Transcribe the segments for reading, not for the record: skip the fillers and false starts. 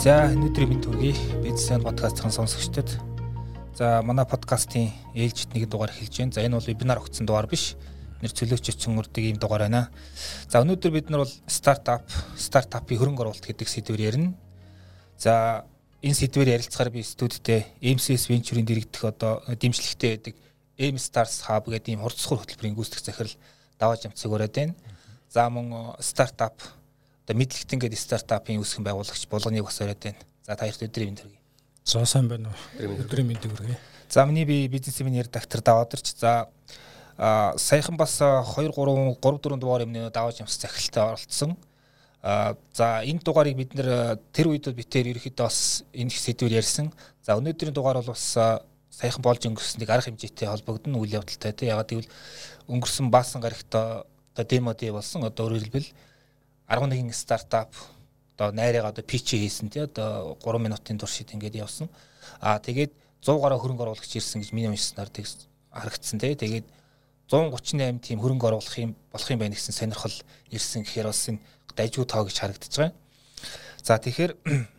За өнөөдрийн мэнд хүргэе. Бизнес подкастын сонсогчдод. За манай подкастын ээлжид нэг дугаар эхэлж байна. За энэ бол вебинар өгсөн дугаар биш. Нэр цөлөөч чөнгөрдөг ийм дугаар байна. За өнөөдөр бид нар бол стартапын хөрөнгө оруулалт гэдэг сэдвээр ярина. За энэ сэдвээр ярилцахаар би студидтэй MCS Venture-ийн дэргэдэх одоо дэмжлэгтэй байдаг M Stars Hub гэдэг ийм хурцлахур хөтөлбөрийн гүйцэтгэх захирал даваа жамцэг өрөөд байна. За мөн стартап одоо мэдлэгтэн гэдэг стартапын үүсгэн байгуулагч болгоныг бас өрөөд байна. За та хоёрт өдрийн мэнд хүргэе. За сайн байна уу? Өдрийн мэндийг хүргэе. За миний би бизнесмен редактор Даваадарч. За саяхан бас 2 3 4 дугаар өмнө давааж ямс захиралтай оролцсон. За энэ дугаарыг бид нэр тэр үед битээр ерөөхдөө бас энэ их сэдвээр ярьсан. За өнөөдрийн дугаар бол бас саяхан болж өнгөрснийг арга хэмжээтэй холбогдсон үйл явдалтай тийм. Ягаад гэвэл өнгөрсөн баасан гарагт одоо демо дэ болсон. Одоо өөрөөр хэлбэл 11 стартап одоо найраа одоо питч хийсэн тий. Одоо 3 минутын турш ингэж явсан. Тэгээд 100 гаруй хөрөнгө оруулагч ирсэн гэж миний уншсанаар харагдсан тий. Тэгээд 138 тийм хөрөнгө оруулах юм болох юм байна гэсэн сонирхол ирсэн гэхээр бас энэ дайжгүй тоо гэж харагдаж байгаа. За тэгэхээр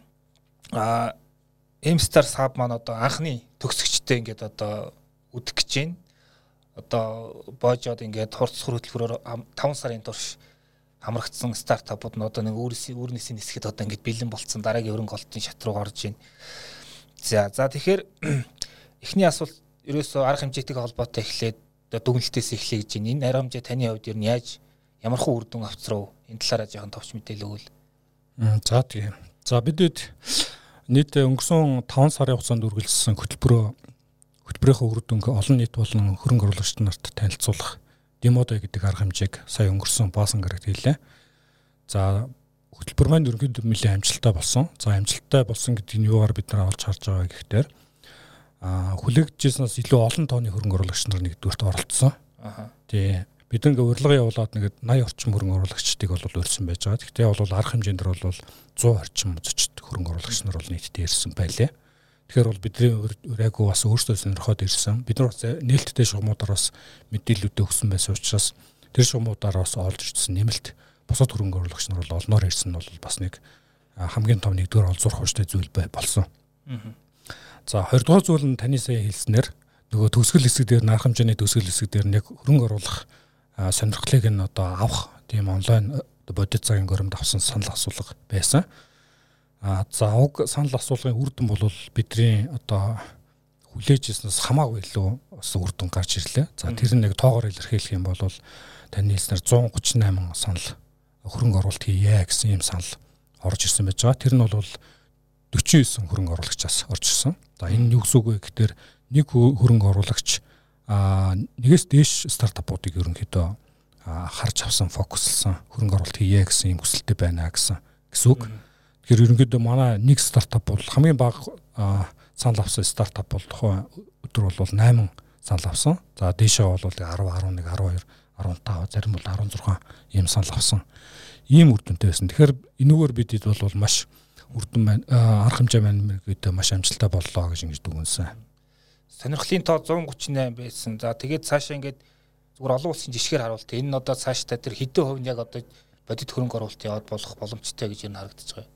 M Stars Hub маань одоо анхны төгсөгчтэй ингээд одоо үдэх гэж байна. Одоо боожод ингээд хурцлах хөтөлбөрөөр 5 сарын турш хамрагдсан стартапууд нь одоо нэг өөрнөөсөө нисэхэд одоо ингээд бэлэн болцсон дараагийн хөрөнгө олтын шат руу орж байна. За тэгэхээр эхний асуулт ерөөсөө арга хэмжээтэйгээ холбоотой эхлээд дүгнэлтээс эхлэе гэж байна. Энэ арга хэмжээ таны хувьд ер нь яаж ямархуу үр дүн авцрав? Энэ талаараа жоохон товч мэдээлэл өгвөл. За тийм. За бидэд нийт өнгөрсөн 5 сарын хугацаанд үргэлжилсэн хөтөлбөрийнхөө үр дүнг олон нийт болон хөрөнгө оруулагчид нарт танилцуулах демодо гэдэг арга хэмжээг сая өнгөрсөн баасан гарагт хийлээ. За хөтөлбөр маань ерөнхийдөө нэлээд амжилттай болсон. За амжилттай болсон гэдэг нь юугаар бид нар олж харж байгаа гэхээр хүлээгдэжсэнээс илүү олон тооны хөрөнгө оруулагч нар нэгдүгээрт оролцсон. Тий. Бид ингээ урилга явуулаад нэг 80 орчим хөрөнгө оруулагчдыг бол өрсөн байж байгаа. Гэхдээ бол арга хэмжээндэр бол 100 орчим үзэгчд хөрөнгө оруулагч нар бол нийтдээ ирсэн байлээ. Тэгэхээр бол бидний өрөөгөө бас өөрсдөө сонирхоод ирсэн. Бид нар бас нээлттэй шугамудаар бас мэдээлэлүүд өгсөн байсан учраас тэр шугамудаар бас олж ирсэн нэмэлт бусад хөрөнгө оруулагч нар бол олноор ирсэн нь бол бас нэг хамгийн том нэгдүгээр олзуурах хүчтэй зүйл болсон. За 20 дугаар зүйл нь таны сая хэлснээр нөгөө төгсгөл хэсэг дээр арга хэмжээний төгсгөл хэсэг дээр нэг хөрөнгө оруулах сонирхлыг нь одоо авах тийм онлайн бодит цагийн горимд авсан санал асуулга байсан. За уг санал асуулгын үр дүн бол бидний одоо хүлээж ирснээс хамаагүй илүү бас үр дүн гарч ирлээ. За тэр нэг тоогоор илэрхийлэх юм бол таны хэлснээр 138 санал хөрөнгө оруулалт хийе гэсэн юм санал орж ирсэн байж байгаа. Тэр нь бол 49 хөрөнгө оруулагчаас орж ирсэн. За энэ юу гэсэн үг вэ гэхээр нэг хөрөнгө оруулагч нэгээс дээш стартапуудыг ерөнхийдөө харж авсан, фокуслсан хөрөнгө оруулалт хийе гэсэн юм хүсэлтэй байна гэсэн үг. Тэгэхээр ерөнхийдөө манай нэг стартап бол хамгийн бага санал авсан стартап бол тухайн өдөр бол 8 санал авсан. За дээшээ бол 10, 11, 12, 15, зарим бол 16 ийм санал авсан. Ийм үр дүнтэй байсан. Тэгэхээр энүүгээр бидэд бол маш үр дүн байна. Арга хэмжээ байна гэдэг маш амжилттай боллоо гэж ингэж дүгнсэн. Сонирхлын тоо 138 байсан. За тэгээд цаашаа ингээд зүгээр олон улсын жишгээр харуулт. Энэ нь одоо цаашдаа тэр хэдэн хувь нь яг одоо бодит хөрөнгө оруулалт яваад болох боломжтой гэж энэ харагдаж байгаа.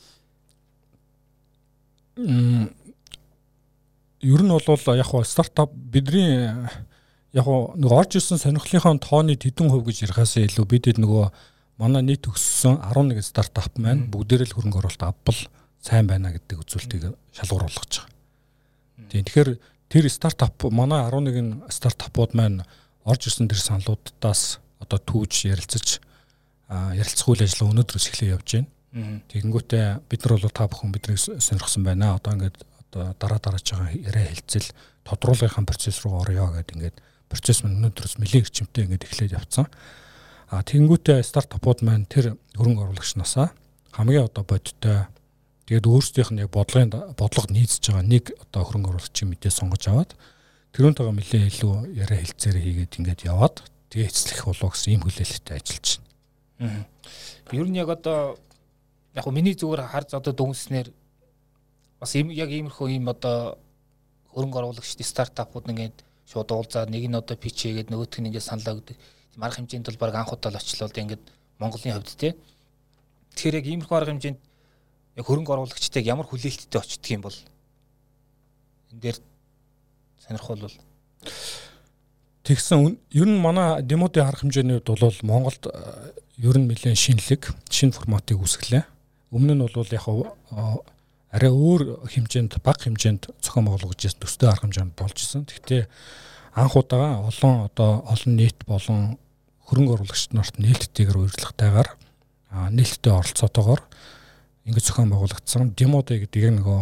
Ер нь бол яг хоо стартап бидний яг нэг орж ирсэн сонирхлынхаа тооны хэдэн хувь гэж ярихаас илүү бидэд нөгөө манай нийт төгссөн 11 стартап маань бүгдээрээ л хөрөнгө оруулалт авбал сайн байна гэдэг үзүүлэлтийг шалгуур болгож байгаа. Тэгэхээр тэр стартап манай 11 стартапууд маань орж ирсэн тэр саналуудаас одоо түүж ярилцах үйл ажиллагаа өнөөдрөөс эхлэе явж байна. Тэгэнгүүтээ бид нар бол та бүхэн биднийг сонирхсан байна. Одоо ингээд дараач байгаа яриа хэлцэл тодруулгын процесс руу орё гэдэг ингээд процесс маань өнөөдрөөс нэлээд эрчимтэй ингээд эхлээд явцсан. Тэгэнгүүтээ стартапууд маань тэр хөрөнгө оруулагчнаасаа хамгийн одоо бодиттой тэгээд өөрсдийнх нь яг бодлого нийцж байгаа нэг одоо хөрөнгө оруулагчийн мэдээ сонгож аваад тэрүүнтэйгээ нэлээд илүү яриа хэлцээр хийгээд ингээд яваад тэгээ эцлэх болов гэсэн ийм хүлээлттэй ажиллаж байна. Ер нь яг одоо яг миний зүгээр харж одоо дүнснээр бас яг иймэрхүү ийм одоо хөрөнгө оруулагчдын стартапууд ингээд шууд уулзаад нэг нь одоо питч хийгээд нөгөөх нь ингээд саналаа өгдөг. Арга хэмжээнд бол баг анх удаа л очлоо ингээд Монголын хувьд тий. Тэгэхээр яг иймэрхүү арга хэмжээнд яг хөрөнгө оруулагчдыг ямар хүлээлттэй очдөг юм бол энэ дээр сонирхол бол тэгсэн ер нь манай демодын арга хэмжээний хувьд бол Монголд ер нь нэлээд шинэ форматыг үүсгэлээ. Өмнө нь бол яг арай өөр хэмжээнд бага хэмжээнд зохион байгуулагдаж байсан төстэй арга хэмжээнд болж исэн. Гэхдээ анх удаа олон нийт болон хөрөнгө оруулагч нарт нээлттэйгээр урилгатайгаар нээлттэй оролцоотойгоор ингэж зохион байгуулагдсан демодэ гэдэг нөгөө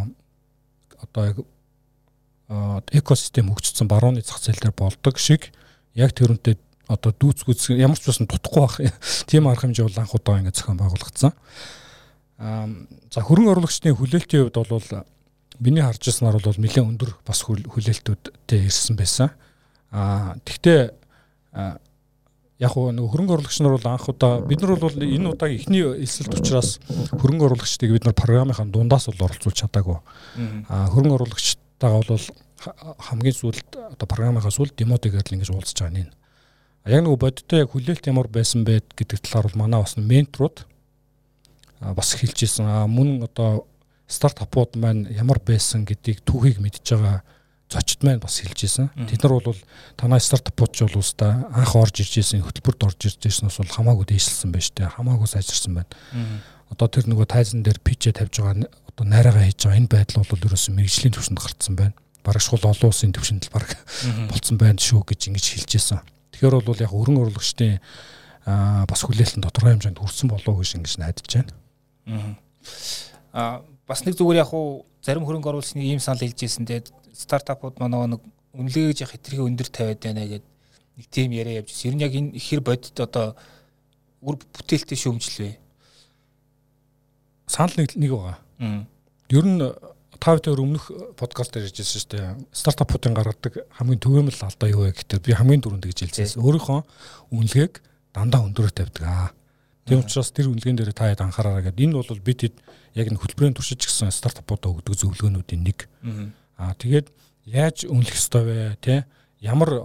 экосистем хөгжсөн барууны зах зээл дээр болдог шиг яг тэрүүнтэй дүүцгүүц ямар ч байсан дутхгүй байх тийм арга хэмжээ бол анх удаа ингэ зохион байгуулагдсан. За хөрөнгө оруулагчдын хүлээлтийн хувьд бол миний харж ирсэнээр бол нэлээд өндөр бас хүлээлтүүдтэй ирсэн байсан. Тэгтээ яг нөгөө хөрөнгө оруулагч нар бол анх удаа бид нар бол энэ удаагийн эхний эсэлт учраас хөрөнгө оруулагчдыг бид нар програмынхаа дундаас бол оролцуулж чадаагүй. Хөрөнгө оруулагчтайгаа бол хамгийн сүүлд програмынхаа сүүлд демодыгээр л ингэж уулзж байгаа нь. Яг нөгөө бодиттой яг хүлээлт ямар байсан бэ гэдэг талаар бол манай бас менторууд бас хэлж ирсэн. Мөн стартапууд маань ямар байсан гэдгийг түүхийг мэдж байгаа зочид маань бас хэлж ирсэн. Тэд нар бол танай стартапууд ч бол уустай анх орж ирж ирсэн хөтөлбөрт орж ирж ирснээс бол хамаагүй дээшилсэн байна шүү дээ. Хамаагүй сайжирсан байна. Тэр нөгөө тайзан дээр пичээ тавьж байгаа найраагаа хийж байгаа энэ байдал бол ерөөсөн мэргэжлийн түвшинд гарцсан байна. Бараг шул олон улсын түвшинд л бараг болцсон байна шүү гэж ингэж хэлж ирсэн. Тэгэхээр бол яг хөрөнгө оруулагчдын бас хүлээлтэн тодорхой хэмжээнд хүрсэн болов уу гэж ингэж найдаж байна. Бас нэг зүгээр яг зарим хөрөнгө оруулагчны ийм санал хэлж ирсэн. Тэгээд стартапууд манай нэг үнэлгээж яг хэтэрхий өндөр тавиад байна гэдэг нэг тийм яриа явж ирсэн. Ер нь яг энэ хэр бодит үр бүтээлтэй шүүмжлээ. Санал нэг байгаа. Ер нь тавтай өмнөх подкаст дээр ярьжсэн шүү дээ. Стартапуудын гаргадаг хамгийн түгээмэл алдаа юу вэ гэхээр би хамгийн түрүүнд гэж хэлсэн. Өөрийнхөө үнэлгээг дандаа өндөрөөр тавьдаг. Тийм учраас тэр үнэлгээнд дээр та хэд анхаараа гэдэг. Энэ бол бид яг нэг хөтөлбөрийн туршиж гисэн стартапуудаа өгдөг зөвлөгөөнүүдийн нэг. Тэгээд яаж үнэлэх ёстой вэ? Тэ ямар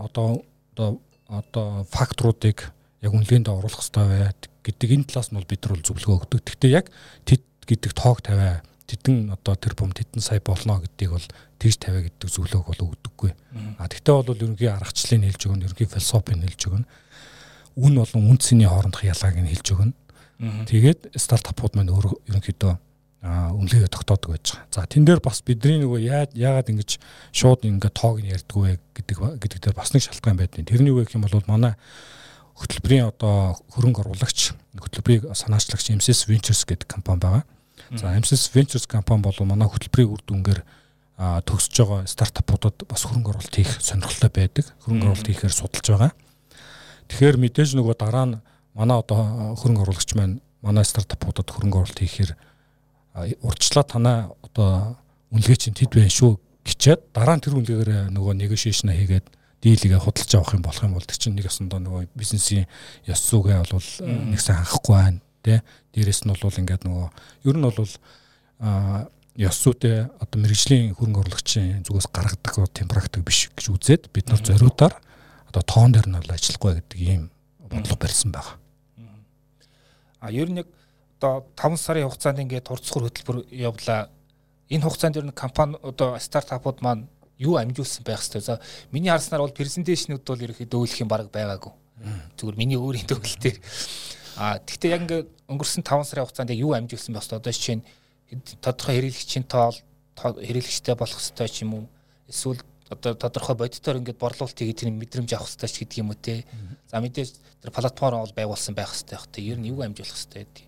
факторуудыг яг үнэлгээнд оруулах ёстой вэ гэдэг энэ талаас нь бол бид нар зөвлөгөө өгдөг. Гэхдээ яг тэд гэдэг тоог тавиа тэдэн тэр бом тэдэн сая болно гэдгийг бол тэгж тавиа гэдэг зөвлөгөөг бол өгдөггүй. Тэгтээ бол ерөнхий аргачлалыг хэлж өгнө, ерөнхий философийг хэлж өгнө. Үн болон үндсний хоорондох ялгааг нь хэлж өгнө. Тэгээд стартапууд маань өөрөө ерөнхийдөө үнэлгээ тогтоодог байж байгаа. За тэн дээр бас бидний нөгөө яагаад ингэж шууд ингээд тоог нь ярьдаг вэ гэдэг дээр бас нэг шалтгаан байдаг. Тэрний юу гэх юм бол манай хөтөлбөрийн хөрөнгө оруулагч хөтөлбөрийг санаачлагч MSS Ventures гэдэг компани байгаа. За MSS Ventures компани бол манай хөтөлбөрийн үр дүнгээр төгсөж байгаа стартапуудад бас хөрөнгө оруулалт хийх сонирхолтой байдаг. Хөрөнгө оруулалт хийхээр судалж байгаа. Тэгэхээр мэдээж нөгөө дараа нь манай хөрөнгө оруулагч маань манай стартапуудад хөрөнгө оруулалт хийхээр урдчлаа танаа үнэлгээ чинь тэд байна шүү гिचээд дараа нь тэр үнэлгээгээр нөгөө negotiation хийгээд дийлгээ худалдаж авах юм болох юм бол тэр чинь нэг ясандаа нөгөө бизнесийн ёс зүйгээ бол нэг сайн хангахгүй байна тий. Дээрээс нь бол ингээд нөгөө ер нь бол ёс зүйтэй мэргэжлийн хөрөнгө оруулагчийн зүгээс гаргадаг тийм практик биш гэж үзээд бид нар зориудаар тоон дээр нь бол ажиллахгүй гэдэг ийм бодлого барьсан байгаа. Ер нь 5 сарын хугацаанд ингээд турцгар хөтөлбөр явлаа. Энэ хугацаанд ер нь компани стартапууд маань юу амжуулсан байх ёстой. За миний харснаар бол презентацийнууд бол ерөөхдөө өөлөх юм баг байгаагүй. Зүгээр миний өөрийн төвлөл дээр. Тэгвэл яг ингээд өнгөрсөн 5 сарын хугацаанд юу амжуулсан байх ёстой. Жишээ нь тодорхой хэрэглэгчийн тоол хэрэглэгчтэй болох ёстой ч юм уу. Эсвэл тодорхой бодитоор ингээд борлуулалт хийгээд тэр мэдрэмж авах ёстой ч гэдэг юм уу те. За мэдээж тэр платформ бол байгуулсан байх ёстой байх. Ер нь юу амжуулах ёстой гэдэг.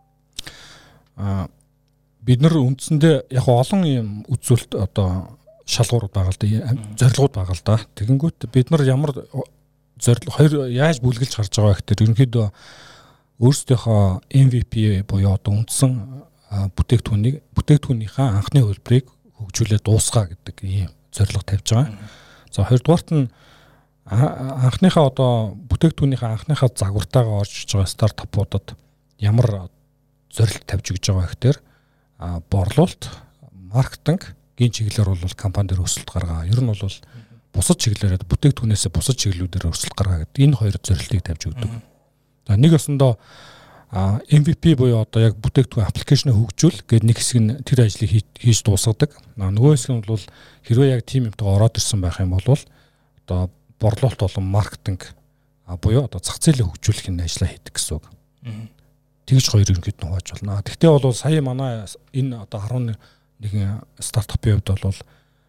Бид нар үндсэндээ яг олон юм үзүүлэлт шалгуурууд байгаа л да, зорилгууд байгаа л да. Тэгэнгүүт бид нар ямар зорилго яаж бүлгэлж харж байгаа гэхээр ерөнхийдөө өөрсдийнхөө MVP буюу үндсэн бүтээгдэхүүнийхээ анхны хөлбөрийг хөгжүүлээд дуусгаа гэдэг ийм зорилго тавьж байгаа. За хоёрдугаарт нь анхныхаа бүтээгдэхүүнийхээ анхныхаа загвартайгаа орж иж байгаа стартапуудад ямар зорилт тавьж өгч байгаа гэхээр борлуулалт, маркетинг гийн чиглэлээр бол компани дээр өсөлт гаргаа. Ер нь бол бусад чиглэлээр бүтээгдэхүүнээс бусад чиглэлүүдээр өсөлт гаргаа гэдэг энэ хоёр зорилтыг тавьж өгдөг. За нэг өсөндөө MVP буюу одоо яг бүтээгдэхүүн аппликейшнээ хөгжүүл гэдэг нэг хэсэг нь тэр ажлыг хийж дуусгадаг. Нөгөө хэсэг нь бол хэрвээ яг тим юмтайгаа ороод ирсэн байх юм бол одоо борлуулалт болон маркетинг буюу одоо зах зээлээ хөгжүүлэх энэ ажлаа хийдэг гэсэн үг. Тэгж хоёр ерөнхийд нь хувааж болно. Тэгтээ бол сая манай энэ одоо 11 стартапын хувьд бол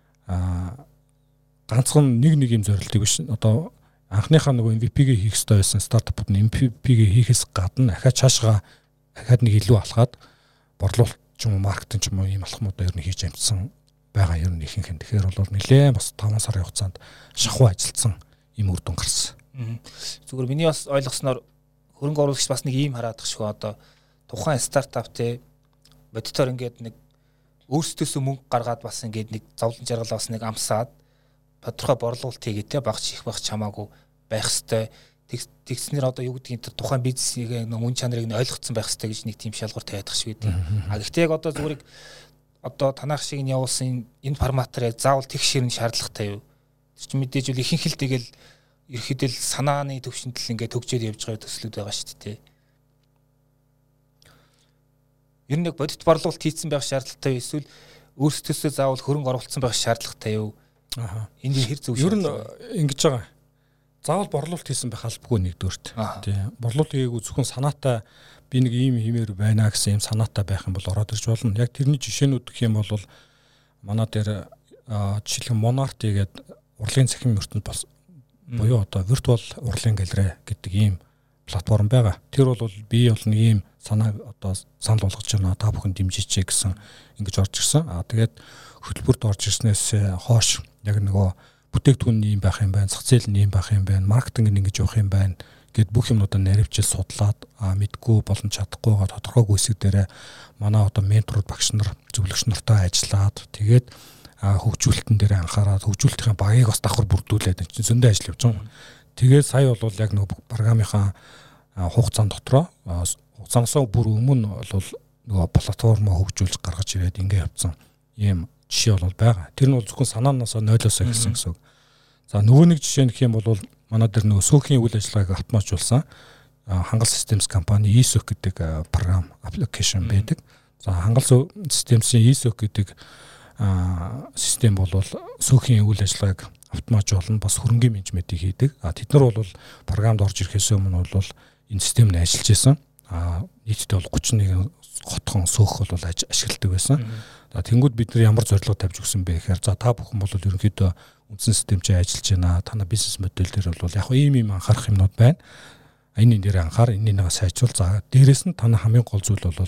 ганцхан нэг юм зорилтыг биш. Одоо анхныхаа нөгөө MVP-гээ хийх хэрэгтэй байсан стартапууд нь MVP-гээ хийхээс гадна ахаа цаашгаа ахаад нэг илүү алхаад борлуулалт ч юм уу маркетинг ч юм уу ийм алхмуудаа ер нь хийж амжсан байгаа ер нь ихэнх. Тэгэхээр бол нэлээд бас 5 сарын хугацаанд шахуу ажилласан ийм үр дүн гарсан. Зүгээр миний бас ойлгосноор хөрөнгө оруулагч бас нэг ийм хараад байгаа шүү. Одоо тухайн стартап те бодитоор ингээд нэг өөрсдөөсөө мөнгө гаргаад бас ингээд нэг зовлон жаргалаа бас нэг амсаад тодорхой борлуулалт хийгээ те багч их багч хамаагүй байх хэвээр тэгснээр одоо юу гэдгийг тэр тухайн бизнесийн үн чанарыг нь ойлгоцсон байх хэвээр гэж нэг тийм шалгуур тавиад байгаа шүү дээ. Гэхдээ яг одоо зүгээр одоо танах шиг нь явуулсан энэ форматаар заавал тэг ширэн шаардлагатай юу? Тэр чинь мэдээж үл ихэнх л тэгэл ерөөхдөө санааны төвшөнд л ингээд төгжөөд явж байгаа төслүүд байгаа шүү дээ. Ер нь яг бодит борлуулалт хийцэн байх шаардлагатай юу? Эсвэл өөрсдөөсөө заавал хөрөнгө оруулсан байх шаардлагатай юу? Энд хэр зөв ер нь ингэж байгаа. Заавал борлуулалт хийсэн байх албагүй нэгдүгürt. Тий. Борлуулалт хийгээгүй зөвхөн санаатай би нэг ийм хэмээр байна гэсэн ийм санаатай байх юм бол ороод ирж болно. Яг тэрний жишээнүүд гэх юм бол манай дээр жишээлбэл Monarty гэдэг урлагийн цахим ертөнд болсон буюу одоо виртуал урлагийн галерей гэдэг ийм платформ байгаа. Тэр бол би бол нэг ийм санааг одоо санал болгож байна. Та бүхэн дэмжиж гэсэн ингэж орж ирсэн. Тэгээд хөтөлбөрт орж ирснээс хойш яг нөгөө бүтээгдэхүүн юм байх юм байна, зах зээл нь юм байх юм байна, маркетинг нь ингэж явах юм байна гэд бүх юмнуудаа наривчил судлаад мэдгүй болон чадахгүйгаа тодорхойгүй хэсэг дээрээ манай одоо менторууд багш нар зөвлөгч нартай ажиллаад тэгээд хөгжүүлэлтэн дээр анхаарал хөгжүүлэлтийн багийг бас давхар бүрдүүлээд энэ чинь зөндөө ажил явж байгаа. Тэгээд сая бол яг нөгөө програмынхаа хугацаанд дотроо хугацаанаас бүр өмнө бол нөгөө платформоо хөгжүүлж гаргаж ирээд ингэ явцсан ийм жишээ бол байгаа. Тэр нь бол зөвхөн санаанаас нойлоосоо гэсэн үг. За нөгөө нэг жишээ нөх юм бол манай дээр нөгөө сөөхийн үйл ажиллагааг автоматжуулсан хангал системс компани ESOC гэдэг програм аппликейшн байдаг. За хангал системсийн ESOC гэдэг систем бол сөөхийн үйл ажиллагааг автоматжуулна бас хөрөнгөний менежментийг хийдэг. Тэд нар бол програмд орж ирэхээс өмнө бол энэ системд ажиллаж байсан. Нийтдээ бол 31 хотхон сөөх бол ашигладаг байсан. Тэнгүүд бид нар ямар зорилго тавьж өгсөн бэ гэхээр за та бүхэн бол ерөнхийдөө үндсэн систем чинь ажиллаж байна. Танай бизнес модель дээр бол яг ийм анхаарах юмнууд байна. Энэ дээр анхаар энийг сайжруул. За дээрэс нь танай хамгийн гол зүйл бол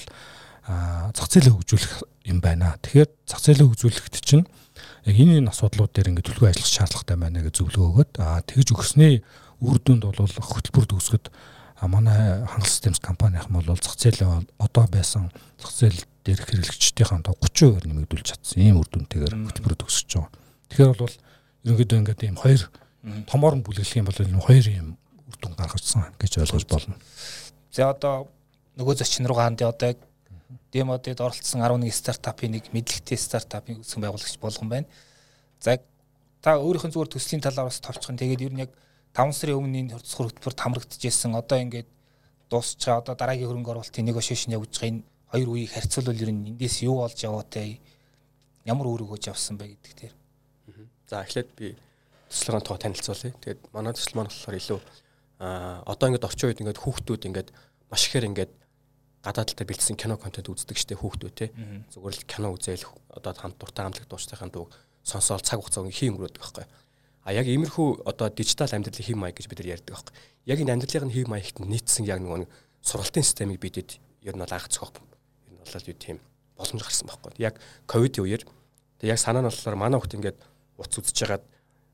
зах зээлээ хөгжүүлэх юм байна. Тэгэхээр зах зээлээ хөгжүүлэхэд чинь яг энэ асуудлууд дээр ингээд төлөвлөгөө ажиллах шаардлагатай байна гэж зөвлөгөө өгöd. Тэгж өгснээ үр дүнд бол хөтөлбөр төгсгöd манай хангал системс компанийн бол зах зээлээ одоо байсан зах зээл дээрх хэрэглэгчдийн 30% нэмэгдүүлж чадсан ийм үр дүнтэйгээр хөтөлбөр төгсөж байгаа. Тэгэхээр бол ерөнхийдөө ингээд ийм хоёр томоор нь бүлэглэх юм бол хоёр ийм үр дүн гаргажсан гэж ойлгож болно. За одоо нөгөө зочин руу гаанд одоо демодод оролцсон 11 стартапын нэг мэдлэгтэй стартапын үүсгэн байгуулагч болгон байна. За та өөрийнх нь зүгээр төслийн талаар бас товчхон тэгээд ер нь яг 5 сарын өмнө энэ хурцлах хөтөлбөрт хамрагдчихсэн. Одоо ингээд дуусчаа одоо дараагийн хөрөнгө оруулалтын негошиашн явуулж байгаа энэ хоёр үеийг харьцуулбал ер нь эндээс юу болж яваатай ямар үүрэг өгж авсан бэ гэдэг дээр. За эхлээд би төслийн тоо танилцуулъя. Тэгээд манай төсөл маань болохоор илүү одоо ингээд орчин үед ингээд хүүхдүүд ингээд маш ихээр ингээд гадаад талтай бэлдсэн кино контент үздэг штеп хүүхдүүд те. Зүгээр л кино үзээл одоо хамт дуртай хамтлаг дуустайхын дуу сонсоол цаг хугацаа хийн өнгөрөөдөг байхгүй. Яг иймэрхүү одоо дижитал амьдралын хэв маяг гэж бид нар ярьдаг байхгүй. Яг энэ амьдралын хэв маягт нийцсэн яг нэг сургалтын системийг бидэд ер нь бол анх зохиох ер нь бол юу тийм боломж гарсан байхгүй. Яг ковидын үеэр яг санаа нь болохоор манай хүүхд ингээд утас үзэж хагаад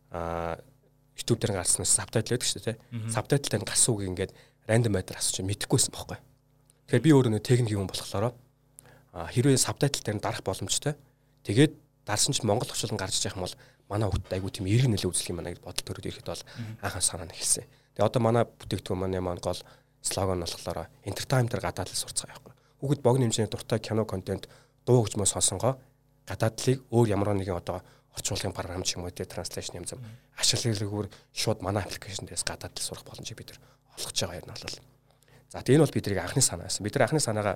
YouTube дээр гарснаас сабтайтл байдаг шүү дээ. Сабтайтл дээр гарсан үг ингээд рандом байдлаар асууж мэдэхгүйсэн байхгүй. Тэгэхээр би өөрөө нэг техник юм болохоор хэрвээ сабтайтл дээр дарах боломжтой. Тэгээд дарсан ч Монгол орчуулан гарч иж явах юм бол манай хүүхд айгуу тийм эрг нөлөө үзүүлэх юм байна гэж бодол төрөд ирэхэд бол анхаа санаа нь эхэлсэн. Тэгээ одоо манай бүтээгдэхүүн маань гол слоган нь болохоор entertainment-ээр гадаад л сурцгаа байхгүй. Хүүхд богино хэмжээний дуртай кино контент дуу хөгжмөө сонсонгоо гадаадлыг өөр ямар нэгэн одоо орчуулгын програм ч юм уу транслейшн юм зам ашиглалгүйгээр шууд манай аппликейшн дээрээс гадаад л сурах боломжийг бид нар олгож байгаа юм бол. За тэгээ энэ бол бидний анхны санаа байсан. Бид нар анхны санаагаа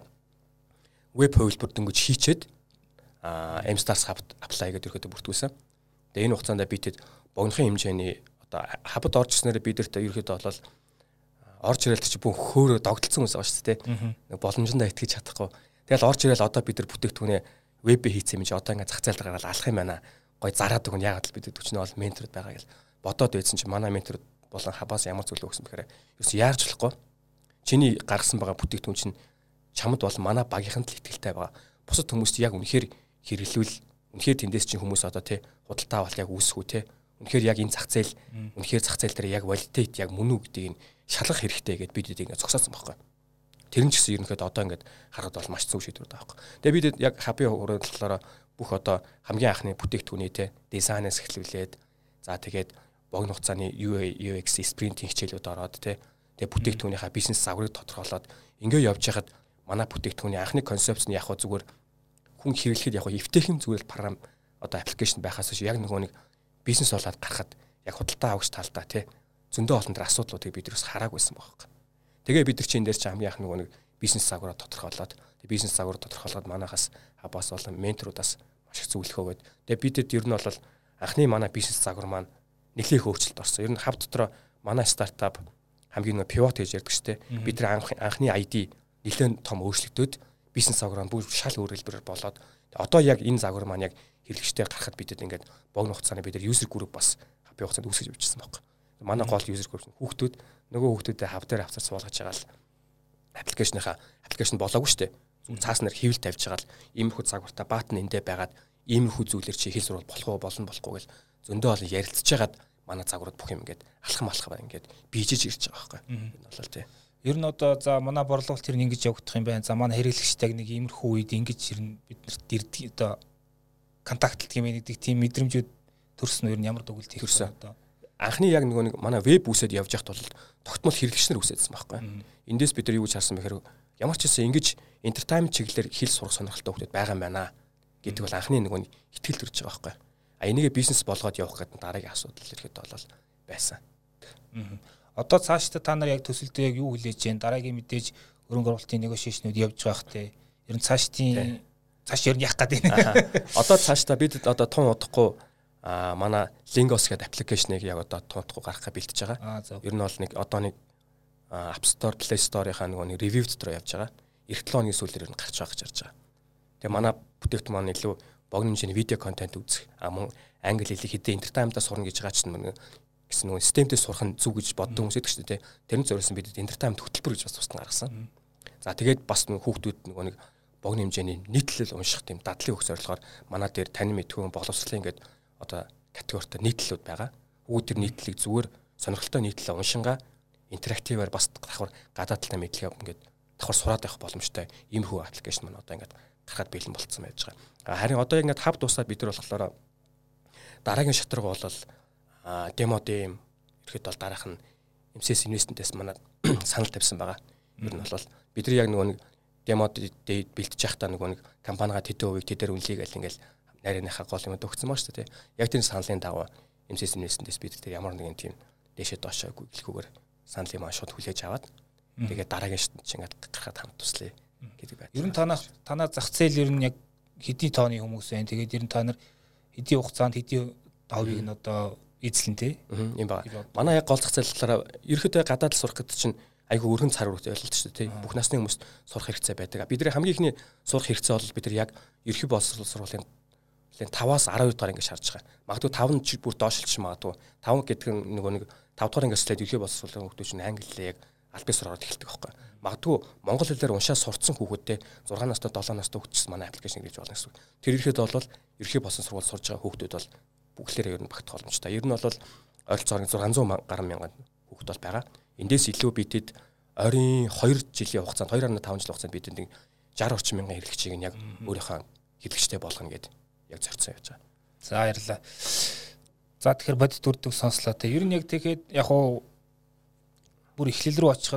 веб хувилбар дөнгөж хийчээд M-Stars Hub apply гэдэг ерөөдөө бүртгүүлсэн. Тэгээ энэ хугацаанд бидэд богинохын хэмжээний одоо хабд орж ирснээр бидэрт ерөөдөө болол орж ирэл чи бүх хөөрөө догдолцсон хүмүүс байгаа шүү дээ. Боломжиндаа итгэж чадахгүй. Тэгэл орж ирэл одоо бид нар бүтээгдэхүүнээ веб хийсэн юм чи одоо ингээд зах зээл дээр гараад алах юм байна. Гой зараад өгнө ягаад л бид өчнөө бол менторуд байгаа гэл бодоод байсан чи манай менторуд болон хабаас ямар зүйл өгсөн бэхээр ерөөс яарч болохгүй. Чиний гаргасан байгаа бүтээгдэхүүн чинь чамд бол манай багийнханд л ихтэй байгаа. Бусад хүмүүст яг үнэхээр хэрэглүүл үнэхээр тэндээс чинь хүмүүс одоо тий худалдаа авалт яг үүсэхүү тий үнэхээр яг энэ зах зээл үнэхээр зах зээл дээр яг валидейт яг мөн үү гэдгийг шалгах хэрэгтэй гэдээ бид ингээд зогсоосон байхгүй. Тэр нь ч гэсэн ерөнхийдөө одоо ингээд харахад бол маш зөв шийдвэр байгаа байхгүй. Тэгээ бид яг хабын хуралдлаараа бүх одоо хамгийн анхны бүтээгдэхүүний тий дизайнаас эхлүүлээд за тэгээд богино хугацааны UX спринтинг хичээлүүд ороод тий тэгээ бүтээгдэхүүнийхаа бизнес загварыг тодорхойлоод ингээд явж байхад манай бүтээгдэхүүний анхны концепц нь яг хөө зүгээр хүн хэрэглэхэд яг эвтэйхэм зүгээр програм одоо аппликейшн байхаас биш яг нөгөө нэг бизнес болоод гарахад яг худалдаа авагч талдаа тий зөндөө олон төр асуудлуудыг бид ерөөс хараагүйсэн байхгүй. Тэгээ бид нар чинь энэ дээр чинь хамгийн анх нөгөө нэг бизнес загвараа тодорхойлоод тэгээ бизнес загвар тодорхойлоод манайхаас хабаас болон менторудаас маш их зөвлөхөө гээд тэгээ бидэд ер нь бол анхны манай бизнес загвар маань нэлээх өөрчлөлт орсон. Ер нь хаб дотор манай стартап хамгийн нөгөө пивот гэж ярьдаг шүү дээ. Бид нар анхны ID нэлээд том өөрчлөлтөд бизнес загвар бүр шал өөр хэлбэрээр болоод одоо яг энэ загвар маань яг хэрэглэгчтэй гарахад бидэд ингээд богино хугацааны бид нар user group бас хабын хугацаанд үүсгэж явчихсан байхгүй. Манай гол user group хүүхдүүд нөгөө хүүхдүүдэд хав дээр авцар суулгаж байгаа л аппликейшн болоогүй шүү дээ. Цааснаар хэвэл тавьж байгаа л иймэрхүү загвартаа баатан эндээ байгаад иймэрхүү зүйлэр чи хэл сурвал болох уу болно болохгүй гэл зөндөө олон ярилцж байгаад манай загварууд бүх юм ингээд алхам ингээд бийжиж ирж байгаа байхгүй. Энэ бол тий. Ер нь одоо за манай борлуулалт тэр нь ингэж явагдах юм байна. За манай хэрэглэгчтэйг нэг иймэрхүү үед ингэж ер нь биднэрт ирдэг одоо контактлт хэмээн гэдэг тийм мэдрэмжүүд төрсөн ер нь ямар дугуйлт хийсэн одоо. Анхны яг нөгөө нэг манай веб үсэд явж байхад бол тогтмол хэрэглэгч нар үсэдсэн байхгүй. Эндээс бид нар юу гэж харсан бэхээр ямар ч гэсэн ингэж entertainment чиглэлээр хэл сурах сонирхолтой хүмүүс байгаа юм байна гэдэг бол анхны нөгөө итгэл төрж байгаа байхгүй. А энийгээ бизнес болгоод явах гэдэг дараагийн асуудал ирэхэд бол байсан. Одоо цаашдаа та нар яг төсөлдөө яг юу хүлээж जैन дараагийн мэдээж хөрөнгө оруулалтын негошиашнууд явж байх те. Ер нь цааш ер нь яах гэдэг вэ? Одоо цаашдаа бид одоо тун удахгүй манай Lingos гэдэг аппликейшнийг яг одоо тун удахгүй гаргахаа бэлтэж байгаа. Ер нь бол нэг одоо нэг App Store, Play Store-ийн нэг review дотор явж байгаа. Эх 7 өдрийн сүүлээр нь гарч байгаа гэж харж байгаа. Тэгээ манай бүтээгдэхүүн маань илүү богино хэмжээний видео контент үзэх, мөн англи хэлийг хэдийн entertainment-аас сурна гэж байгаа чинь гэсэн нөгөө системтэй сурах нь зүг гэж боддог хүмүүс байдаг шүү дээ. Тэрний зориулсан бидэд entertainment хөтөлбөр гэж бас тусдан гаргасан. За тэгээд бас нөгөө хүүхдүүд нөгөө нэг богино хэмжээний нийтлэл унших тийм дадлын өгс зорилгоор манай дээр тань мэдхүүн боловсролын ингээд одоо категоритой нийтлэлүүд байгаа. Хүүхд төр нийтлэлийг зүгээр сонирхолтой нийтлэлээ уншингаа интерактиваар бас давхар гадаад талтай мэдлэгээ ингээд давхар сураад явах боломжтой иймэрхүү аппликейшн маань одоо ингээд гарахад бэлэн болцсон байж байгаа. Харин одоо ингээд хаб дуусаад бид нар болохоор дараагийн шатраг бол демо дэм ирэхэд бол дараах нь MCS Investment-ээс манай санал тавьсан байгаа. Ер нь бол бид нар яг нөгөө нэг демо дэйд бэлтэж явахдаа нөгөө нэг компанига тэдэн хувийг тэдээр үнэлье гэл ингээл найрныхаа гол юм өгсөн ба шүү дээ. Яг тэр саналын дагуу MCS Investment-ээс бид тэр ямар нэгэн тийм дэшээ доошоогүй гэлгүүгээр санал юм шууд хүлээж аваад тэгээд дараагийн чинь ингээд гарахад хамт туслая гэдэг байна. Ер нь танаа зах зээл ер нь яг хэдийн тооны хүмүүс байна. Тэгээд ер нь та нар хэдийн хугацаанд хэдийн давыг нь одоо эзлэн тий. Юм байна. Манай яг гол зах зээл талаараа ерөөдөө гадаад сурах гэдэг чинь айгүй өргөн цар хүртэл ойлголт шүү дээ тий. Бүх насны хүмүүст сурах хэрэгцээ байдаг. Бидний хамгийн ихний сурах хэрэгцээ бол бид нар яг ерхий боловсрол сургуулийн 5-аас 12 дахь ингээд шаарж байгаа. Магадгүй 5 нь бүр доошлж магадгүй 5 гэдэг нь нөгөө нэг 5 дахь ингээд слайд ерхий боловсролын хүмүүс чинь англиээ яг аль бис сураад эхэлдэг байхгүй. Магадгүй монгол хэлээр уншаа сурцсан хүүхдтэй 6 настай 7 настай хүүхдчс манай аппликейшн гэж болно гэсэн. Тэр ирэхэд бол ерхий болсон сургууль сурж байгаа хүүхдүүд бол бүгдлээрээ ер нь багтах боломжтой. Ер нь бол ойролцоогоор 600 гаруй мянган хүүхд бол байгаа. Эндээс илүү бидэд ойрын 2 жилийн хугацаанд 2.5 жилийн хугацаанд бидэд нэг 60 орчим мянган хэрэглэгчийг яг өөрийнхөө хэрэглэгчтэй болгоно гэдэг яг зорьсон явж байгаа. За баярлалаа. За тэгэхээр бодит дүрдэг сонслоо те. Ер нь яг тэгэхэд яг уу бүр эхлэл рүү очиход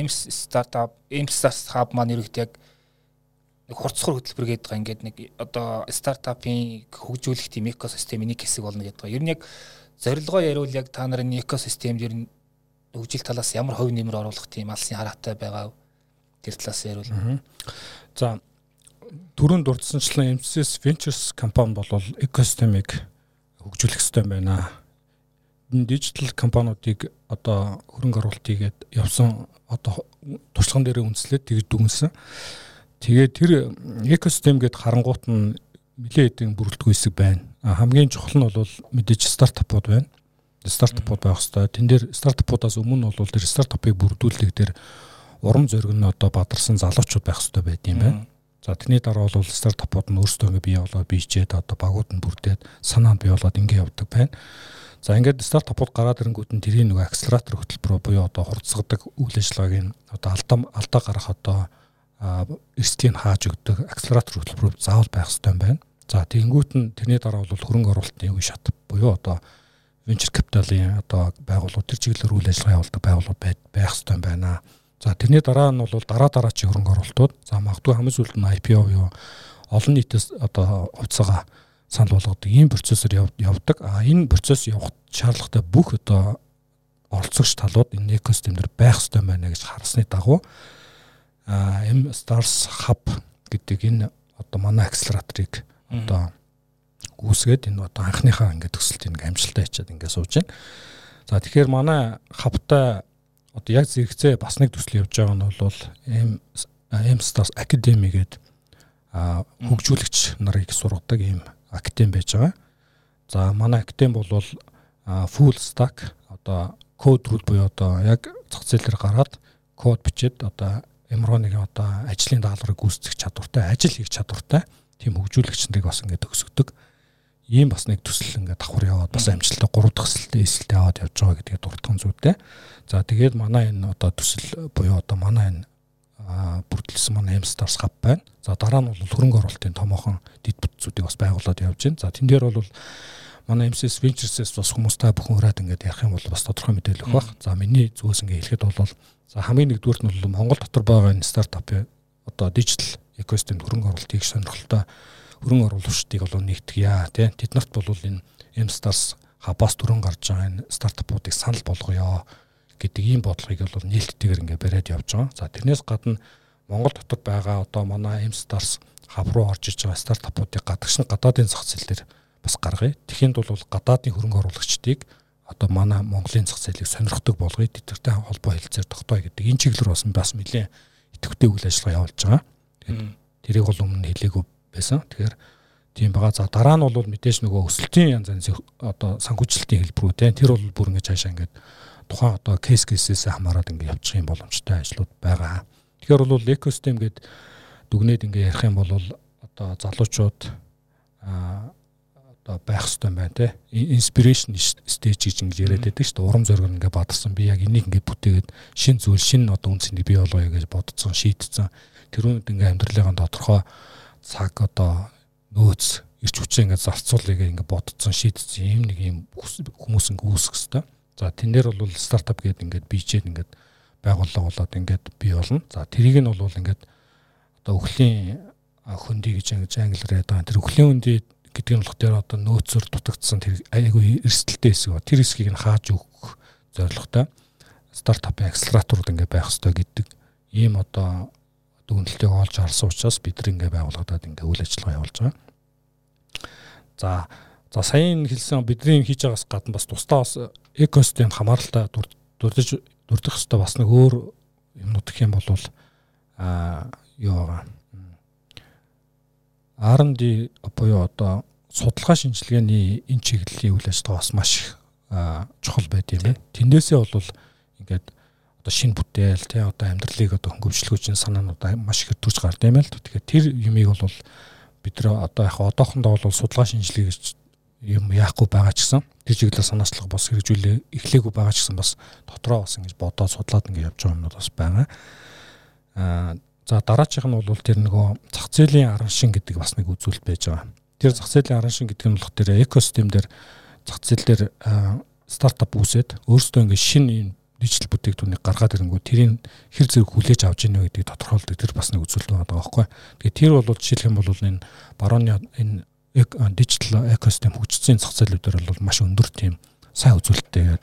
M-Stars Hub маань ерөөд яг нэг хурцхар хөтөлбөр гэдэг байгаа. Ингээд нэг одоо стартапын хөгжүүлэх тийм экосистемийн нэг хэсэг болно гэдэг байгаа. Ер нь яг зорилгоо яриул яг та нарын экосистемд ер нь хөгжил талаас ямар хувь нэмэр оруулах тийм алсын хараатай байгаа тэр талаас ярил. За түрүүнд дурдсанчлан MCS Ventures компани бол экосистемийг хөгжүүлэх хэрэгтэй байна. Дижитал компаниудыг одоо хөрөнгө оруулалт хийгээд явсан одоо туршлаган дээр үндэслээд тэгж дүгнсэн. Тэгээд тэр экосистем гээд харангуут нь нэлээд хэдийн бүрэлдэхүүн хэсэг байна. Хамгийн чухал нь бол мэдээж стартапууд байна. Стартапууд байх хэвээр. Тэн дээр стартапуудаас өмнө бол тэр стартапыг бүрдүүлэх дээр урам зориг нь одоо бадарсан залуучууд байх хэвээр байд юм байна. За тэрний дараа бол стартапууд нь өөрсдөө ингээ бий болоод бичээд одоо багууд нь бүрдээд санаанд бий болоод ингээ явдаг байна. За ингээд стартапууд гараад ирэнгүүт нь тэрийн нөгөө акселератор хөтөлбөрөөр буюу одоо хурцгадаг үйл ажиллагааг нь одоо алдаа гарах одоо эрсдлийг хааж өгдөг акселератор хөтөлбөр заавал байх хэрэгтэй юм байна. За тэгэнгүүт нь тэрний дараа бол хөрөнгө оруулалтын үе шат буюу одоо venture capital-ийн одоо байгууллагууд тэр чиглэлээр үйл ажиллагаа явуулдаг байгууллагууд байх хэрэгтэй юм байна. За тэрний дараа нь бол дараачийн хөрөнгө оруулалтууд за магадгүй хамгийн сүүлд нь IPO юу олон нийтээс одоо хувьцаагаа санал болгодог ийм процессор явдаг. Энэ процесс явах шаардлагатай бүх одоо оролцогч талууд энэ экосистемээр байх хэрэгтэй байна гэж харсны дагуу M-Stars Hub гэдэг энэ одоо манай акселераторыг одоо гүйсгээд энэ одоо анхныхаа ингээд төсөлтийг амжилттай хийчихэд ингээд сууж байна. За тэгэхээр манай хавтай одоо яг зэрэгцээ бас нэг төсөл явж байгаа нь бол M-Stars Academy гэдэг хөгжүүлэгч нарыг сургадаг ийм академи байж байгаа. За манай академи бол full stack одоо код руу буюу одоо яг зах зээл дээр гараад код бичээд одоо ямар нэг одоо ажлын даалгаврыг гүйцэтгэх чадвартай, ажил хийх чадвартай тийм хөгжүүлэгч нарыг бас ингээд төгсгдөг. Ийм бас нэг төсөл ингээд давхар яваад бас амжилттай 3 дахь эсэлтэд аваад явж байгаа гэдгийг дурдсан зүйтэй. За тэгээд манай энэ одоо төсөл буюу одоо манай энэ бүрдүүлсэн манай M-Stars Hub байна. За дараа нь бол хөрөнгө оруулалтын томоохон дэд бүтцүүдийг бас байгуулад явж байна. За тэн дээр бол манай MCS Ventures-с бас хүмүүстэй бүхэн ураад ингээд ярих юм бол бас тодорхой мэдээлэл өгөх бах. За миний зүгээс ингээд хэлэхэд бол за хамгийн нэгдүгüүрт нь бол Монгол дотор байгаа энэ стартапын одоо дижитал экосистемд хөрөнгө оруулалт хийх сонирхолтой хөрөнгө оруулагчдыг бол нэгтгэе тий. Тэд нарт бол энэ M-Stars Hub-аас түрэн гарч байгаа энэ стартапуудыг санал болгоё гэдэг ийм бодлогыг бол нээлттэйгээр ингээд бариад явж байгаа. За тэрнээс гадна Монгол дотор байгаа одоо манай M-Stars Hub руу орж иж байгаа стартапуудыг гадагш нь гадаадын зах зээл дээр бас гаргая. Тэхинд бол гадаадын хөрөнгө оруулагчдыг одоо манай Монголын зах зээлийг сонирхдаг болгоё. Тэдэртэй холбоо хэлцээр тогтооё гэдэг энэ чиглэлээр бас нэлээд идэвхтэй үйл ажиллагаа явуулж байгаа. Тэгээд тэрийг бол өмнө хэлээгүй байсан. Тэгэхээр тийм байгаа. За дараа нь бол мэдээж нөгөө өсөлтийн янз янзын одоо санхүүжилтийн хэлбэрүүд тэр бол бүр ингэж хаашаа ингээд тухайн одоо кейсээс хамаарат ингээд явчих юм боломжтой ажлууд байгаа. Тэгэхээр бол экосистем гээд дүгнээд ингээд ярих юм бол одоо залуучууд одоо байх хэрэгтэй байна те. Inspiration stage гэж ингэж яриад байдаг шүү дээ. Урам зориг ингээд бадарсан. Би яг энийг ингээд бүтээгээд шин зүйл, шин одоо үнцнийг бий болгоё гэж бодцсон, шийдсэн. Тэрүүнд ингээд амьдралын тодорхой цаг одоо нөөц ирч хүчээ ингээд зарцуулъя гэж ингээд бодцсон, шийдсэн. Ийм нэг юм хүмүүс ингээд үүсэх хэрэгтэй. За тэн дээр бол стартап гэдэг ингээд бичээд ингээд байгууллага болоод ингээд бий болно. За тэрийг нь бол ингээд одоо өхлийн хөндөй гэж англиар ядаа. Тэр өхлийн хөндөй гэдэг нь болохоор одоо нөөцөөр дутагдсан тэр айгүй эрсдэлтэй хэсэг ба тэр хэсгийг нь хааж өгөх зорилготой стартапын акселераторууд ингээд байх хэрэгтэй гэдэг ийм одоо дүгнэлтийг олж харсан учраас бид нар ингээд байгууллагад ингээд үйл ажиллагаа явуулж байгаа. За саяын хэлсэн бидний хийж байгаас гадна бас тусдаа бас экосистем хамааралтай дурдах хэвээр бас нэг өөр юмнууд гэх юм бол юу байгаа. R&D буюу одоо судалгаа шинжилгээний энэ чиглэлийн үйл ажиллагаа бас маш чухал байд юм байна. Тэндээсээ бол ингээд одоо шинэ бүтээл тий одоо амьдралыг одоо хөнгөвчлөхөж санаануудаа маш их төрж гард юм л. Тэгэхээр тэр юмыг бол бид нар одоо яг одоохондоо бол судалгаа шинжилгээ гэж юм яахгүй байгаа ч гэсэн тэр чиглэлээр санаачлага бас хэрэгжүүлээ эхлээгүй байгаа ч гэсэн бас дотроо бас ингэж бодоод судлаад ингэ явж байгаа юмнууд бас байгаа. За дараачих нь бол тэр нөгөө зах зээлийн аран шин гэдэг бас нэг үзүүлэлт байж байгаа. Тэр зах зээлийн аран шин гэдэг нь болохоор тэр экосистем дээр зах зээл дээр стартап үүсээд өөрсдөө ингэ шинэ дижитал бүтээгдэхүүнийг гаргаад ирэнгүү тэрийг хэр зэрэг хүлээж авч ийнэ гэдгийг тодорхойлдог тэр бас нэг үзүүлэлт байгаа байхгүй. Тэгэхээр тэр бол жишээлх юм бол энэ барууны энэ дижитал экосистем хөгжсөн зах зээлүүдээр бол маш өндөр тийм сайн үзүүлэлттэй байдаг.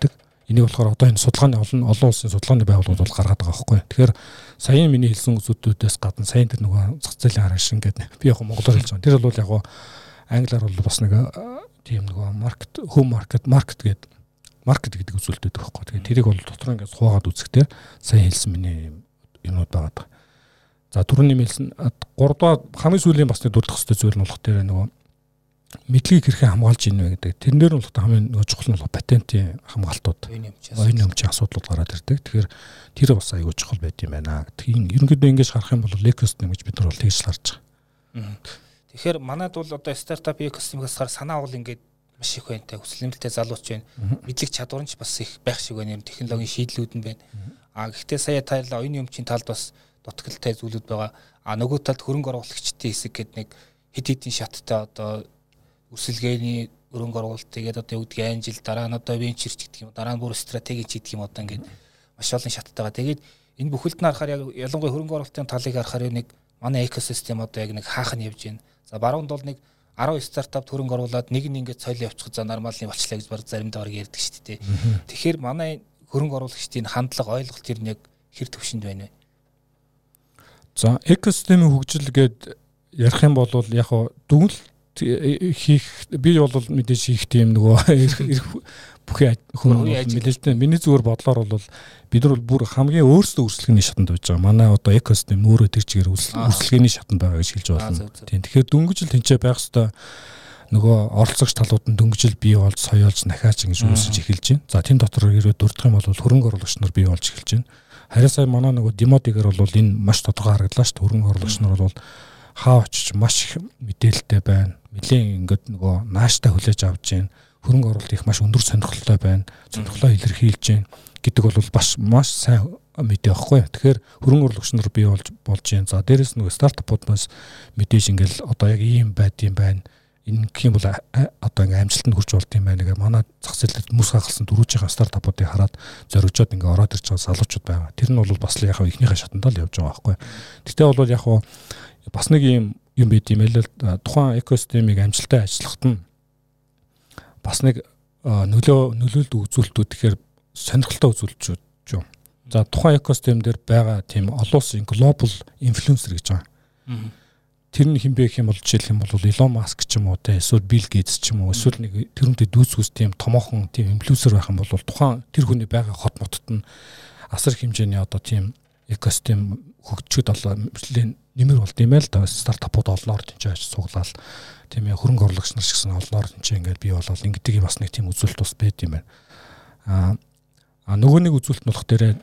Энийг болохоор одоо энэ судалгааны олон улсын судалгааны байгууллагууд бол гаргаад байгаа байхгүй. Тэгэхээр саяын миний хэлсэн үзүүлэлтүүдээс гадна саяын тэр нөгөө зах зээлийн арга шин гэдэг би яг монголоор хэлж байгаа. Тэр бол яг англиар бол бас нэг тийм нөгөө маркет гэдэг үзүүлэлтүүд байхгүй. Тэгэхээр тэрийг бол дотор ингээс хуваагаад үзэхдээ сая хэлсэн миний юмуд байгаа. За түрүүний хэлсэн 3 дахь хамгийн сүүлийн бас нэг дурдах хэвээр зүйл нь болох тэр нөгөө мэдлэгийг хэрхэн хамгаалж ийнэ вэ гэдэг. Тэрнээр нь бол хамгийн нөгөө чухал нь бол патентын хамгаалтууд. Оюуны өмчийн асуудлууд гараад ирдэг. Тэгэхээр тэр бас аюул чухал байд юм байна. Тэгэхээр ерөнхийдөө ингэж харах юм бол экосистем гэж бид нар бол тэгж харж байгаа. Тэгэхээр манайд бол одоо стартап экосистемээс хар санаа бол ингээд маш их байна. Хүсэл нэмэлттэй залууч байна. Мэдлэг чадвар нь ч бас их байх шиг байна. Технологийн шийдлүүд нь байна. Гэхдээ сая тайлаа оюуны өмчийн талд бас дутагдaltaй зүйлүүд байгаа. Нөгөө талд хөрөнгө оруулагчдын хэсэг гэдэг нэг хэд хэдийн шаттай одоо үрсэлгээний өрөнгө оруулалт тэгээд одоо юу гэдгийг анжил дараа нь одоо венчер ч гэдэг юм дараа нь бүр стратеги ч гэдэг юм одоо ингээд маш олон шаттайгаа. Тэгээд энэ бүхэлд нь харахаар ялангуяа хөрөнгө оруулалтын талыг харахаар нэг манай экосистем одоо яг нэг хаах нь явж байна. За баруунд бол нэг 10 стартап хөрөнгө оруулаад нэг нь ингээд соёлын явчих за нормалны болчлаа гэж баг заримдаа ярьдаг шүү дээ. Тэгэхээр манай хөрөнгө оруулагчдын хандлага ойлголт тэр нэг хэр төвшөнд байна вэ? За экосистемийн хөгжил гээд ярих юм бол яг дүгнэлт хийх би бол мэдээж хийх тийм нөгөө бүхий хүн мэдээж миний зүгээр бодлоор бол бид нар бүр хамгийн өөрсдөө өрсөлдөний шатанд байж байгаа. Манай одоо экосистем өөрөө тэр чигээр өрсөлдөний шатанд байгаа гэж хэлж байна. Тийм. Тэгэхээр дөнгөжл тэнцээ байх хэвээр нөгөө оролцогч талууд нь дөнгөжл бий болж соёолж нахаач ингэж үүсэж эхэлж байна. За тийм дотор ирээд дурдах юм бол хөрөнгө оруулагч нар бий болж эхэлж байна. Харин сая манай нөгөө Демотигээр бол энэ маш тодорхой харагдлаа шүү дээ. Хөрөнгө оруулагч нар бол хаа очиж маш их мэдээлэлтэй байна. Нэлийн ингээд нөгөө нааштай хүлээж авч байна. Хөрөнгө оруулалт их маш өндөр сонирхолтой байна. Сонирхлоо илэрхийлж байна гэдэг бол маш сайн мэдээ байхгүй. Тэгэхээр хөрөнгө оруулагч нар бий болж байна. За дээрэс нөгөө стартапуудаас мэдээж ингээл одоо яг ийм байд юм байна. Энэ гэх юм бол одоо ингээм амжилтанд хүрч болд юм байна. Манай зах зээлд мөс хагалсан дөрвөжийн стартапуудыг хараад зоригжоод ингээ ороод ирж байгаа залуучууд байгаа. Тэр нь бол бас яг ихнийхээ шатандаа л явж байгаа байхгүй. Тэгтээ бол яг бас нэг юм байд юм л тухайн экосистемийг амжилттай ажиллахад нь бас нэг нөлөөлөлт үзүүлэлтүүд тэгэхээр сонирхолтой үзүүлэлтүүд юм. За тухайн экосистем дээр байгаа тийм олон улсын глобал инфлюенсер гэж байгаа. Тэр нь хин бэ гэх юм бол жишээлх юм бол Elon Musk ч юм уу те эсвэл Bill Gates ч юм уу эсвэл нэг тэрүүнтэй дүүцгүүс тийм томоохон тийм инфлюенсер байх юм бол тухайн тэр хүний байгаа хот мотод нь асар хэмжээний одоо тийм экосистем хөгжчөд нэмэр болд юм л да стартапууд олноор тэнцэж суглаал тийм ээ хөрөнгө оруулагч нар шигсэн олноор тэнцээ ингээд бий болол ингэдэг бас нэг тийм үзүүлэлт бас байд юм байна. Нөгөө нэг үзүүлэлт нь болох дээрээ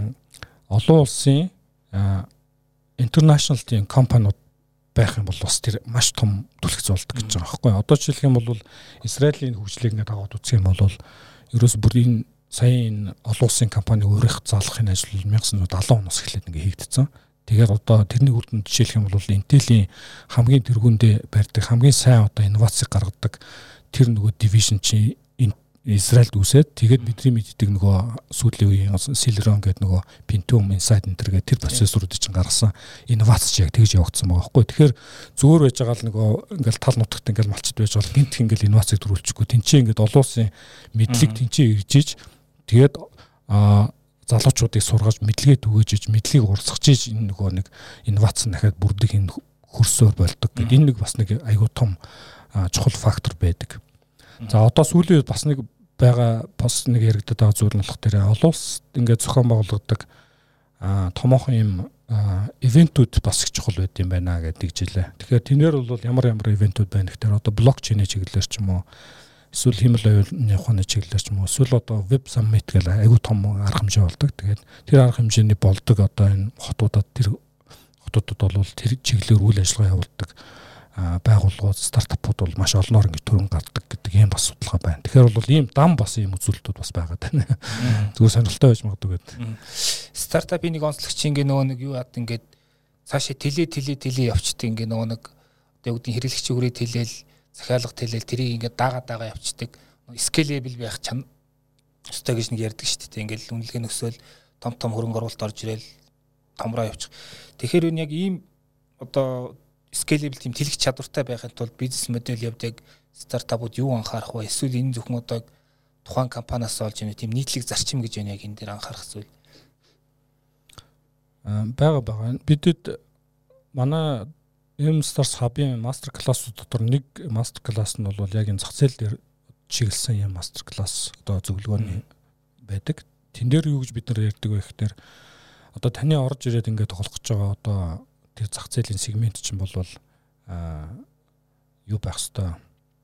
олон улсын international тийм компаниуд байх юм бол бас тэр маш том түлхэгц болдог гэж байгаа байхгүй. Одоо жишээлх юм бол Израилийн хөгжлийг ингээд аваад үзэх юм бол ерөөс бүр энэ саяын олон улсын компани өөрийнх заалгахын ажил 1970 оноос эхлээд ингээд хийгдсэн. Тэгээд одоо тэрний үр дүнд жишээлх юм бол Intel-ийн хамгийн тэргүүндээ барьдаг хамгийн сайн одоо инновацийг гаргадаг тэр нөгөө division чи Израильд үсээд тэгээд бидний мэддэг нөгөө сүүлийн үеийн Celeron гэдэг нөгөө Pentium Inside Enter гэдэг тэр процессоруудыг чинь гаргасан инновац чи яг тэгж явагдсан байгаа байхгүй. Тэгэхээр зүгээр байж байгаа л нөгөө ингээл тал нутагт ингээл малчд байж бол гинт ингээл инновацийг төрүүлчихгүй тэнцээ ингээд олон улсын мэдлэг тэнцээ иржиж тэгээд залуучуудыг сургаж мэдлэгээ түгэж мэдлэгийг урсгаж энэ нөгөө нэг инновац дахиад бүрдэх энэ хөрсөөр болдог гэдэг энэ нэг бас нэг аюу тум чухал фактор байдаг. За одоо сүүлийн бас нэг байгаа бас нэг яригдаад байгаа зүйл нь болох дээр олон улс ингээд зохион байгуулдаг томоохон юм ивентүүд бас их чухал байд юм байна гэдэг жилээ. Тэгэхээр тэнээр бол ямар ивентүүд байна гэхээр одоо блокчейн чиглэлээр ч юм уу эсвэл хэмэл оюуны ухааны чиглэлээр ч юм уу эсвэл одоо веб саммит гэл аюу том арга хэмжээ болдог. Тэгээд тэр арга хэмжээний болдог одоо энэ хотуудад тэр хотуудад бол тэр чиглэлээр үйл ажиллагаа явуулдаг байгууллагууд стартапууд бол маш олноор ингэ төрөн гардаг гэдэг ийм бас судалгаа байна. Тэгэхээр бол ийм дам бас ийм үзүүлэлтүүд бас байгаад байна. Зүгээр сонирхолтой байж магадгүй гэдэг. Стартапын нэг онцлогч ингээ нөгөө нэг юу яад ингээд цаашаа тэлээ явчдаг ингээ нөгөө нэг одоо үүдний хэрэглэгчийн хүрээ тэлээл захиалга тэлээл тэрийг ингээ даага явцдаг. Scalable байх ёстой гэж нэг ярьдаг шүү дээ. Ингээл үнэлгээ нөсөөл том хөрөнгө оруулалт орж ирэл томроо явчих. Тэгэхээр энэ яг ийм одоо scalable тийм тэлэх чадвартай байхын тулд бизнес модель явдаг стартапууд юу анхаарах вэ? Эсвэл энэ зөвхөн одоо тухайн компаниас олж ийм тийм нийтлэг зарчим гэж байна яг энэ дээр анхаарах зүйл. Бага. Бидэд манай M-Stars Hub-ын мастер классууд дотор нэг мастер класс нь бол яг энэ зах зээл дээр чиглэсэн юм мастер класс одоо зөвлөгөөний байдаг. Тэн дээр юу гэж бид нар ярьдаг вэ гэхээр одоо таны орж ирээд ингээд тоглох гэж байгаа одоо тэр зах зээлийн сегмент чинь бол юу байх хэвээр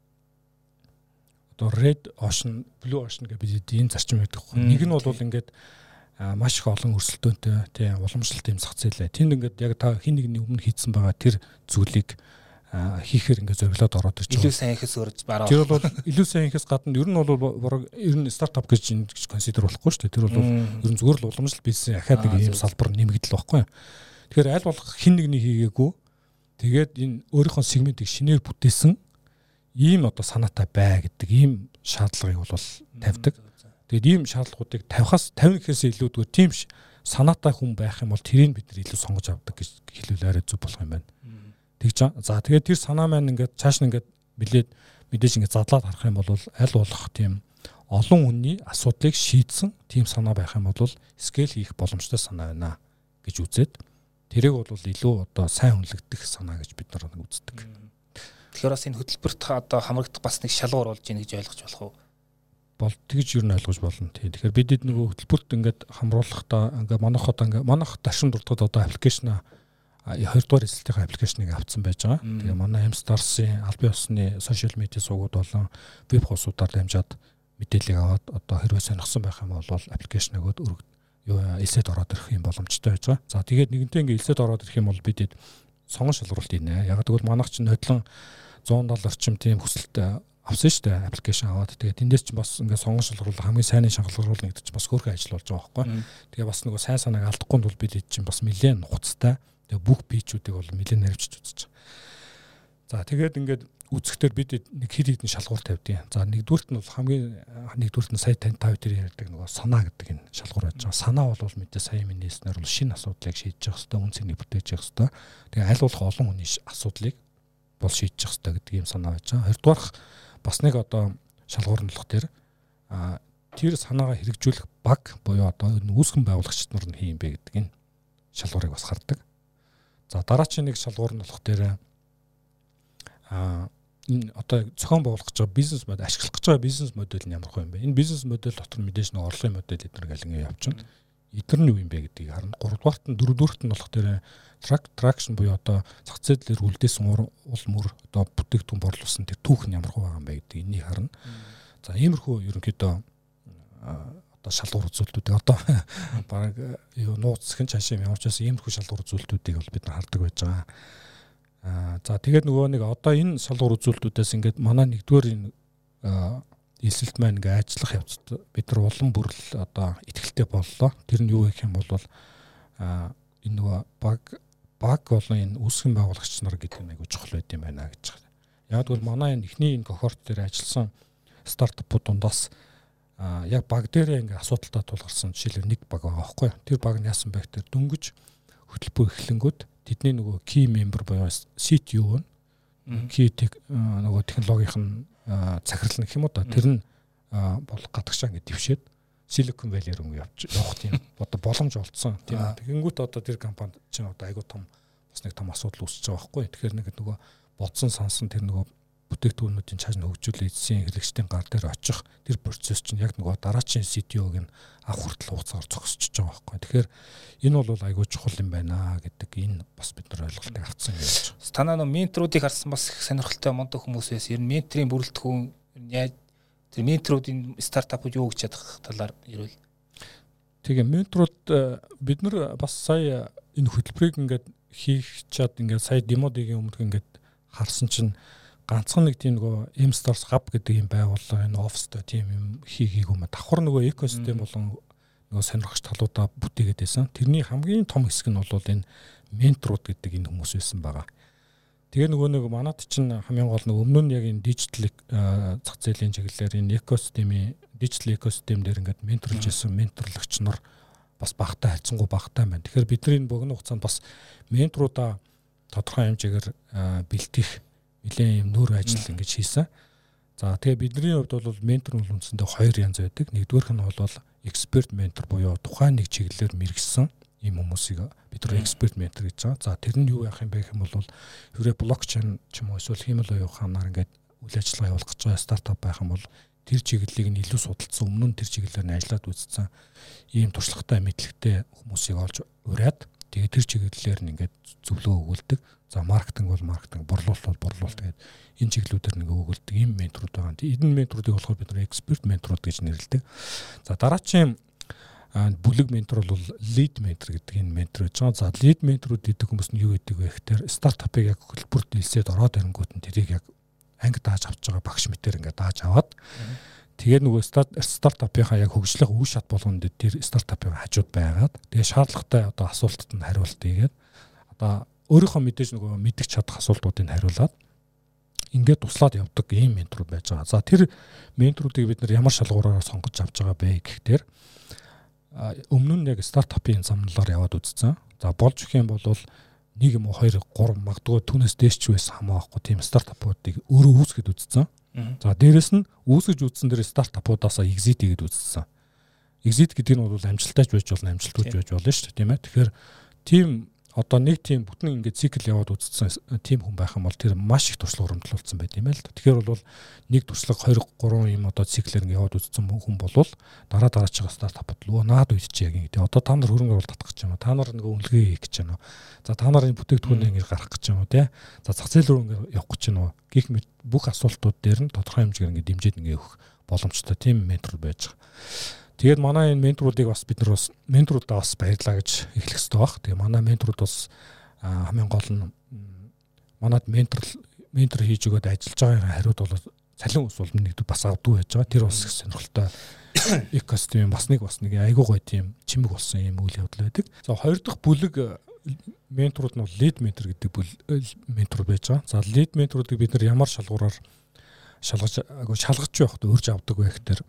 одоо Red Ocean, Blue Ocean гэж бид энэ зарчим байдаг. Нэг нь бол ингээд маш их олон өрсөлдөөнтэй тийм уламжлалт юм зах зээлээ. Тэнд ингээд яг та хин нэгний өмнө хийцэн байгаа тэр зүйлийг хийхээр ингээд зориглоод ороод ирж байгаа. Илүү сайн ихээс өрж бараа. Тэр бол илүү сайн ихээс гадна ер нь бол ер нь стартап гэж консидер болохгүй шүү дээ. Тэр бол ер нь зүгээр л уламжлалт бизнесийн ахаад нэг юм салбар нэмэгдэл байхгүй. Тэгэхээр аль болох хин нэгний хийгээгүй. Тэгээд энэ өөрийнхөө сегментийг шинээр бүтээсэн ийм одоо санаатай бай гэдэг ийм шаардлагыг бол тавьдаг. Тэгээд ийм шаардлагуудыг тавих гэхээс илүүдгээр тийм санаатай хүн байх юм бол тэрийг бид нар илүү сонгож авдаг гэж хэлвэл арай зөв болох юм байна. Тэгж за тэгээд тэр санаа маань ингээд цааш нь ингээд мэдээж ингээд задлаад харах юм бол аль болох тийм олон хүний асуудлыг шийдсэн тийм санаа байх юм бол скейл хийх боломжтой санаа байна гэж үзээд тэрийг бол илүү одоо сайн хүнлэгдэх санаа гэж бид нар үздэг. Тэгэхээр бас энэ хөтөлбөрт одоо хамрагдах бас нэг шалгуур болж ийн гэж ойлгож болох уу? Бол тэгж юу н ойлгож болно тий. Тэгэхээр бидэд нөгөө хөтөлбөрт ингээд хамруулахдаа ингээд манайх ташин дуртад одоо аппликейшн 2 дугаар эсэлтийн аппликейшнийг авцсан байж байгаа. Тэгээ манай M-Stars-ын албан ёсны сошиал медиа сувгууд болон веб хуудасуудаар дамжаад мэдээлэл аваад одоо хэрвээ сонирхсан байх юм бол аппликейшн өгөөд элсэд ороод ирэх юм боломжтой байж байгаа. За тэгээд нэгэнтээ ингээд элсэд ороод ирэх юм бол бидэд сонгон шалгуултийнэ. Яг гэвэл манайх чинь хөдлөн 170 орчим тийм хүсэлт авсан шүү дээ аппликейшн аваад. Тэгээд тэндээс ч бас ингээд сонгон шалгуулах хамгийн сайнын шалгуулах гэдэг чинь бас хөөрхөн ажил болж байгаа байхгүй. Тэгээ бас нөгөө сайн санааг алдахгүй бол бид чинь бас нэлээд нухацтай. Тэгээ бүх пичүүдийг бол нэлээд наривчж үзэж байгаа. За тэгээд ингээд үзэхдээ бид нэг хэд хэдэн шалгуур тавьдیں۔ За нэгдүгüрт нь бол нэгдүгüрт нь сая тань тав дээр ярьдаг нөгөө санаа гэдэг энэ шалгуур байж байгаа. Санаа бол мэдээ сая минь нээснээр бол шинэ асуудлыг шийдэж явах хэрэгтэй, үн цэнийг бүтээж явах хэрэгтэй. Тэгээ аль болох олон хүний асуудлыг бол шийдэж явах хэрэгтэй гэдэг ийм санаа байж байгаа. Хоёрдугаарх бас нэг одоо шалгуур нь болох тэр санаагаа хэрэгжүүлэх баг буюу одоо үүсгэн байгуулагчид нар нь хийм бэ гэдэг энэ шалгуурыг бас хардаг. За дараагийн нэг шалгуур нь болох энэ одоо зохион байгуулах гэж байгаа бизнес модель ашиглах гэж байгаа бизнес модель нь ямар хөө юм бэ? Энэ бизнес модель дотор мэдээж нэг орлогын модель эдгээр галин явчихна. Эдгээр нь юу юм бэ гэдгийг харна. Гуравдугаарт нь дөрөвдүгээрт нь болох traction буюу одоо зах зээлээр үлдээсэн уул мөр одоо бүтээгдэхүүн борлуулсан тэр түүх нь ямар хөө байгаа юм бэ гэдгийг энийг харна. За иймэрхүү ерөнхийдөө одоо шалгуур үзүүлэлтүүдийг одоо баг нууцсхэн цаашаа ямар ч байсан иймэрхүү шалгуур үзүүлэлтүүдийг бол бид нар хардаг байж байгаа. За тэгээд нөгөө нэг одоо энэ шалгуур үзүүлэлтүүдээс ингээд манай нэгдүгээр энэ эсэлт маань ингээд ажиллах явцад бид нар улам бүрл одоо ихтгэлтэй боллоо. Тэр нь юу гэх юм бол энэ нөгөө баг болон энэ үүсгэн байгуулагч нар гэдэг нэг чухал байд юм байна гэж байна. Яг бол манай энэ эхний энэ кохорт дээр ажилласан стартапууд дундаас яг баг дээрээ ингээд асуудалтай тулгарсан жишээлбэл нэг баг байгаа байхгүй. Тэр баг нь яасан бэ гэхээр дөнгөж хөтөлбөр эхлэнгүүд тэдний нөгөө key member буюу CTO нь key нөгөө технологийн захирал гэх юм уу та тэр нь бол гадагшаа ингээд дэвшээд Silicon Valley руу явах тийм одоо боломж олдсон тийм. Тэгэнгүүт одоо тэр компанид чинь одоо айгүй том бас нэг том асуудал үүсэж байгаа байхгүй. Тэгэхээр нэг нөгөө бодсон сансан тэр нөгөө бүтээгдэхүүнүүдийн цааш нь хөгжүүлээ эзэн хэрэглэгчдийн гар дээр очих тэр процесс чинь яг нөгөө дараачийн CTO-г нь авах хүртэл хугацаагаар зогсчихж байгаа байхгүй. Тэгэхээр энэ бол айгүй чухал юм байна гэдэг энэ бас бид нар ойлголтыг авцсан гэж байна. Танаа нөө менторуудыг харсан бас их сонирхолтой мундаг хүмүүс байсан. Ер нь менторийн бүрэлдэхүүн яаж тэр менторуудын стартапууд юу гэж чадах талаар ирвэл. Тэгээ менторууд бид нар бас сая энэ хөтөлбөрийг ингээд хийх чад ингээд сая демодыгийн өмнөх ингээд харсан чинь ганцхан нэг тийм нөгөө M-Stars Hub гэдэг юм байгууллага энэ оффистой тийм юм хийгээгүй юм. Давхар нөгөө экосистем болон нөгөө сонирхогч талуудаа бүтээгээд байсан. Тэрний хамгийн том хэсэг нь бол энэ менторууд гэдэг энэ хүмүүс байсан байгаа. Тэгээ нөгөө нэг манад чинь хамгийн гол нөгөө өмнө нь яг энэ дижитал зах зээлийн чиглэлээр энэ экосистемийн дижитал экосистем дээр ингээд менторлж байсан менторлогч нар бас багтаа хайцсангүй багтаа байна. Тэгэхээр бидний энэ богино хугацаанд бас менторуудаа тодорхой хэмжээгээр бэлтгэх нэлээд юм нүүр ажил ингэж хийсэн. За тэгээ бидний хувьд бол ментор бол үндсэндээ хоёр янз байдаг. Нэгдүгээрх нь бол эксперт ментор буюу тухайн нэг чиглэлээр мэргэсэн ийм хүмүүсийг бид нар эксперт ментор гэж байгаа. За тэр нь юу яах юм бэ гэх юм бол хэрэг блокчейн ч юм уу эсвэл хиймэл оюун ухаанаар ингээд үйл ажиллагаа явуулах гэж байгаа стартап байх юм бол тэр чиглэлийг нь илүү судалсан, өмнө нь тэр чиглэлээр нь ажиллаад үзсэн ийм туршлагатай мэдлэгтэй хүмүүсийг олж ураад тэгээ тэр чиглэлээр нь ингээд зөвлөгөө өгүүлдэг. За маркетинг бол маркетинг, борлуулалт бол борлуулалт гэдэг энэ чиглэлүүдээр нэг өгүүлдэг ийм менторуд байгаа. Энэ менторуудыг болохоор бид нар эксперт менторуд гэж нэрлэдэг. За дараачийн бүлэг ментор бол лид ментор гэдэг энэ ментор гэж байгаа. За лид менторуд гэдэг хүмүүс нь юу гэдэг вэ гэхээр стартапыг яг хөлбөрт нэлсээд ороод ирэнгүүт нь тэрийг яг анги дааж авч байгаа багш мэтэр ингээд дааж аваад тэгээд нөгөө стартапынхаа яг хөгжлөх үе шат болгонд тэр стартапын хажууд байгаад тэгээд шаардлагатай одоо асуултад нь хариулт хийгээд одоо өөрийнхөө мэдээж нөгөө мэддэг чадах асуултуудыг хариулаад ингээд туслаад явдаг ийм менторуд байж байгаа. За тэр менторуудыг бид нар ямар шалгуураар сонгож авч байгаа бэ гэхээр өмнө нь яг стартапын замналаар яваад үзсэн. За болж өгөх юм бол 1 юм уу 2 3 магадгүй түүнээс дээш ч байсан хамаахгүй тийм стартапуудыг өөрөө үүсгэж үзсэн. За дээрэс нь үүсгэж үзсэн дээр стартапуудаасаа exit хийгээд үзсэн. Exit гэдэг нь бол амжилттай байж болно, амжилтгүй байж болно шүү дээ, тийм ээ. Тэгэхээр тийм одоо нэг тийм бүтэн ингээд цикл яваад үзсэн тийм хүн байх юм бол тэр маш их туршлага хөрөмтлүүлсэн байт юм байл. Тэгэхээр бол нэг туршлага 2 3 юм одоо циклээр ингээд яваад үзсэн хүн бол дараачихаа стартапд лөө наад үйдчих яг ингээд одоо та нар хөрөнгө оруулалт татах гэж байна. Та нар нэг үнэлгээ хийх гэж байна. За та нарын бүтээгдэхүүнийг ингээд гаргах гэж байна тий. За зах зээл рүү ингээд явах гэж байна. Гэх мэт бүх асуултууд дээр нь тодорхой хэмжээгээр ингээд дэмжиж ингээд өгөх боломжтой тийм ментор байж байгаа. Тэгээд манай энэ менторуудыг бас бид нар бас менторудаа бас баярлаа гэж эхлэх хэрэгтэй баг. Тэгээ манай менторуд бас хамгийн гол нь манад ментор хийж өгөөд ажиллаж байгаа хариуд бол цалин ус бол нэгд бас авдгүй байж байгаа. Тэр бас их сонирхолтой экосистем бас нэг айгуу гоё тийм чимэг болсон юм үйл явдал байдаг. За хоёр дахь бүлэг менторуд нь лид ментор гэдэг менторуд байж байгаа. За лид менторуудыг бид нар ямар шалгуураар шалгаж явахд өөрж авдаг вэ гэхээр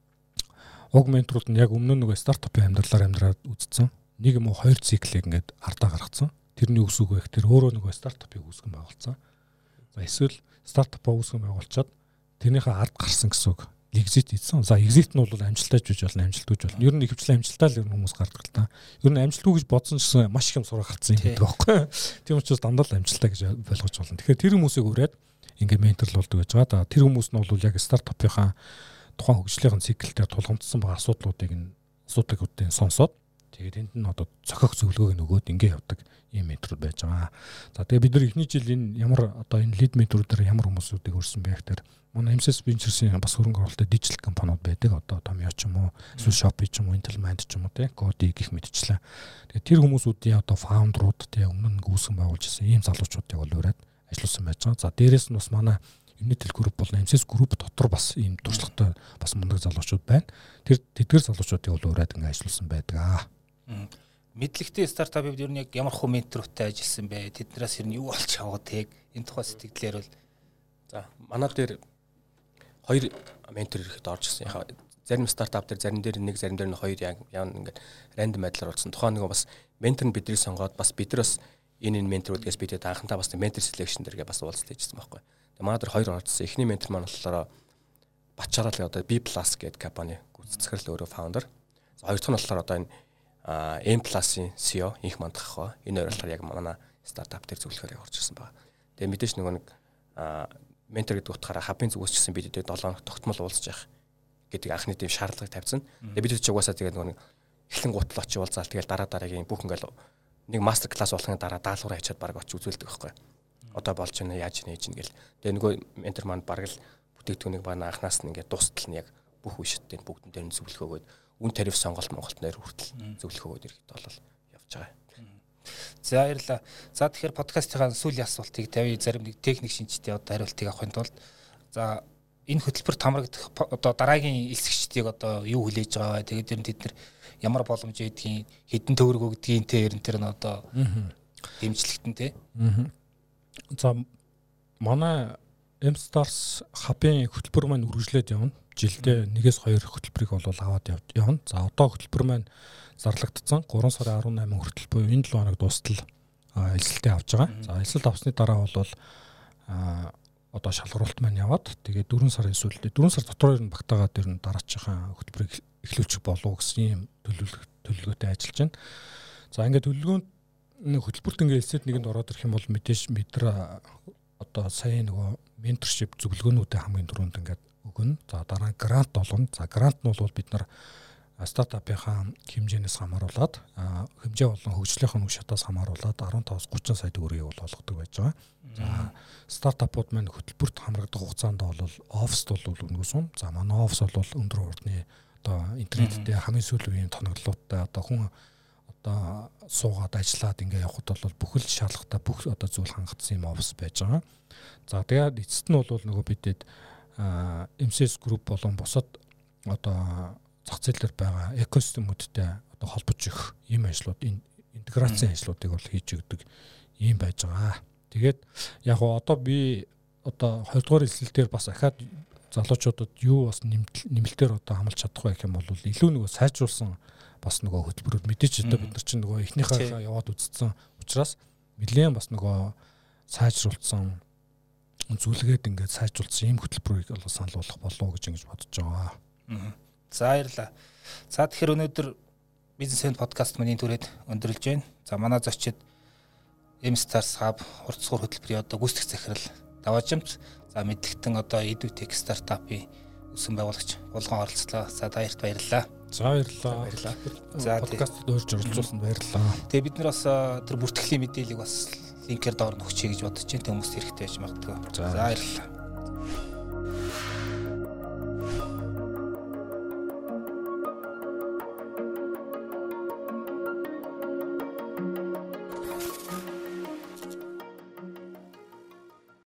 уг менторууд нь яг өмнө нөгөө стартапын амьдралаар үзсэн. 1 юм уу 2 циклийг ингээд ардаа гаргацсан. Тэрний үс үг байх. Тэр өөрөө нөгөө стартапыг үүсгэн байгуулсан. За эсвэл стартапаа үүсгэн байгуулчаад тэрнийхээ ард гарсан гэсэн үг. Exit хийсэн. За exit нь бол амжилттай ч гэж болно, амжилтгүй ч болно. Ер нь ихэвчлэн амжилттай л хүмүүс гардаг л та. Ер нь амжилтгүй гэж бодсон ч гэсэн маш их юм сурах гарцсан юм гэдэг байхгүй. Тийм учраас дандаа л амжилттай гэж болгож болно. Тэгэхээр тэр хүмүүсийг ураад ингээд менторлуулдаг гэж байгаа. Тэр хүмүүс нь бол яг стартапынхаа тухайн хөгжлийн циклээр тулгамдсан байгаа асуудлуудыг сонсоод тэгээд энд нь одоо цохих зөвлөгөөг нөгөөд ингэ явдаг ийм менторуд байж байгаа. За тэгээд бид нар эхний жил энэ ямар одоо энэ лид менторуудаар ямар хүмүүсүүдийг өрсөн бэ гэхээр манай MSS Ventures-ийн бас хөрөнгө оруулалттай дижитал компаниуд байдаг. Одоо Tomio ч юм уу, эсвэл Shopee ч юм уу, Intelmind ч юм уу тий, Cody гэх мэтчлээ. Тэгээд тэр хүмүүсүүдийн одоо фаундерууд тий өмнө нь үүсгэн байгуулж ирсэн ийм залуучуудыг бол ураад ажилласан байж байгаа. За дээрэс нь бас манай Unitel Group бол MSS Group дотор бас ийм туршлагатай бас мундаг залуучууд байна. Тэр тэдгэр залуучуудыг бол ураад ингэ ажилласан байдаг. Мэдлэгтэй стартапыг ер нь яг ямар хөө ментортой ажилласан бэ? Тэднээс ер нь юу олж аваад тийг энэ тухай сэтгэлээр бол за манай дээр 2 ментор ирэхэд орж ирсэн. Зарим стартап дээр зарим дээр нэг зарим дээр нь 2 яг ингээд рандом байдлаар олсон. Тухайн нэг бас ментор нь бидний сонгоод бас бид нар бас энэ менторуудгаас бидэд анхандаа бас ментор селекшн дээргээ бас уулзалт хийжсэн байхгүй. Тэгээ манай дээр 2 орсон. Эхний ментор маань болохоор Бачарал одоо B+ гэдэг компани гүйцэтгэл өөрөө фаундер. Хоёр дахь нь болохоор одоо энэ M+-ийн CEO инх мандах хаа. Энэ хоёр болохоор яг манай стартап дээр зөвлөхөөр орж ирсэн байна. Тэгээ мэдээж нөгөө нэг ментор гэдэг утгаараа хабын зүгээс ч гэсэн бид 7 хоног тогтмол уулзж явах гэдэг анхны тийм шаардлагыг тавьсан. Тэгээ бид ч угаасаа тэгээд нөгөө нэг эхлэн гутал очиж уулзаал тэгээд дараагийн бүх ингээл нэг мастер класс болохын дараа даалгавраа хийчихэд баг очиж үзүүлдэг байхгүй. Одоо болж байна яаж нээж гэл. Тэгээ нөгөө ментор маань баг л бүтээгдэхүүнийг баг анханаас нь ингээд дуустал нь яг бүх үе шаттай бүгдэн дээр нь зөвлөгөө өгөөд үн тариф сонголт Монголд нэр хүртэл зөвлөгөө өгөөд ирэхэд бол явж байгаа. За баярлалаа. За тэгэхээр подкастынхаа сүүлийн асуултыг тавья. Зарим нэг техник шинжтэй одоо хариултыг авахын тулд за энэ хөтөлбөрт хамрагдах одоо дараагийн элсэгчдийг одоо юу хүлээж байгаа вэ? Тэгээд ер нь тэд нар ямар боломж өгдгийг, хэдэн төгрөг өгдгийг те ер нь тэр нь одоо дэмжлэгтэн те. За манай M-Stars хабын хөтөлбөр маань үргэлжлээд явна. Жилдээ 1-2 хөтөлбөрийг бол аваад явна. За одоо хөтөлбөр маань зарлагдсан 3 сарын 18 хүртэл буюу энэ 7 хоног дуустал элсэлтээ авч байгаа. За элсэлт авсны дараа бол одоо шалгаруулалт маань яваад тэгээд 4 сарын сүүлдээ 4 сар дотор ер нь багтаагаад ер нь дараачихсан хөтөлбөрийг эхлүүлчих болов гэсэн ийм төлөвлөгөөтэй ажиллаж байна. За ингээд төлөвлөгөөнд хөтөлбөрт ингээд элсэд нэгэнд ороод ирэх юм бол мэдээж мэдэр одоо сая нөгөө менторшип зөвлөгөөнүүдээ хамгийн түрүүнд ингээд өгнө. За дараа нь грант олгоно. За грант нь бол бид нар стартапынхаа хэмжээнээс хамааруулаад хэмжээ болон хөгжлийнхэн үе шатаас хамааруулаад 15-30 сая төгрөгийг бол олгодог байж байгаа. За стартапууд маань хөтөлбөрт хамрагдах хугацаанд бол оффист бол өнгөсөн. За манай оффис бол өндөр урдны одоо интернеттэй хамгийн сүүлийн үеийн тоноглолттой одоо хүн одоо суугаад ажиллаад ингээ явхад бол бүхэл шаардлагатай бүх одоо зүйл хангагдсан юм оффис байж байгаа. За тэгээд эцэст нь бол нөгөө бидэд MCS Group болон бусад одоо зах зээл дээр байгаа экосистемүүдтэй одоо холбож өгөх ийм ажлууд интеграцийн ажлуудыг бол хийж өгдөг ийм байж байгаа. Тэгээд яг одоо би одоо 2 дугаар эслэл дээр бас ахаад залуучуудад юу бас нэмэлтээр одоо хамлж чадахгүй гэх юм бол илүү нөгөө сайжруулсан бас нөгөө хөтөлбөрүүд мэдээж одоо бид нар чинь нөгөө эхнийхээ яваад үзсэн учраас нэлээд бас нөгөө сайжруулсан зүйлгээд ингээд сайжруулсан ийм хөтөлбөрийг бол санал болгох болов гэж ингэж бодож байгаа. За баярлалаа. За тэгэхээр өнөөдөр бизнес энд подкаст миний түрээд өндөрлж байна. За манай зочид M-Stars Hub хурцсуур хөтөлбөрийн одоо гүйцэтгэх захирал Даваажимц, за мэдлэгтэн одоо EduTech стартапын өсөн байгуулагч Булган оролцлоо. За таярт баярлалаа. За баярлалаа. За подкастт өөрж оролцуулсанд баярлалаа. Тэгээ бид нар бас тэр бүртгэлийн мэдээллийг бас линкээр доор нөхчий гэж бодож байна. Хүмүүст хэрэгтэй байж магадгүй. За баярлалаа.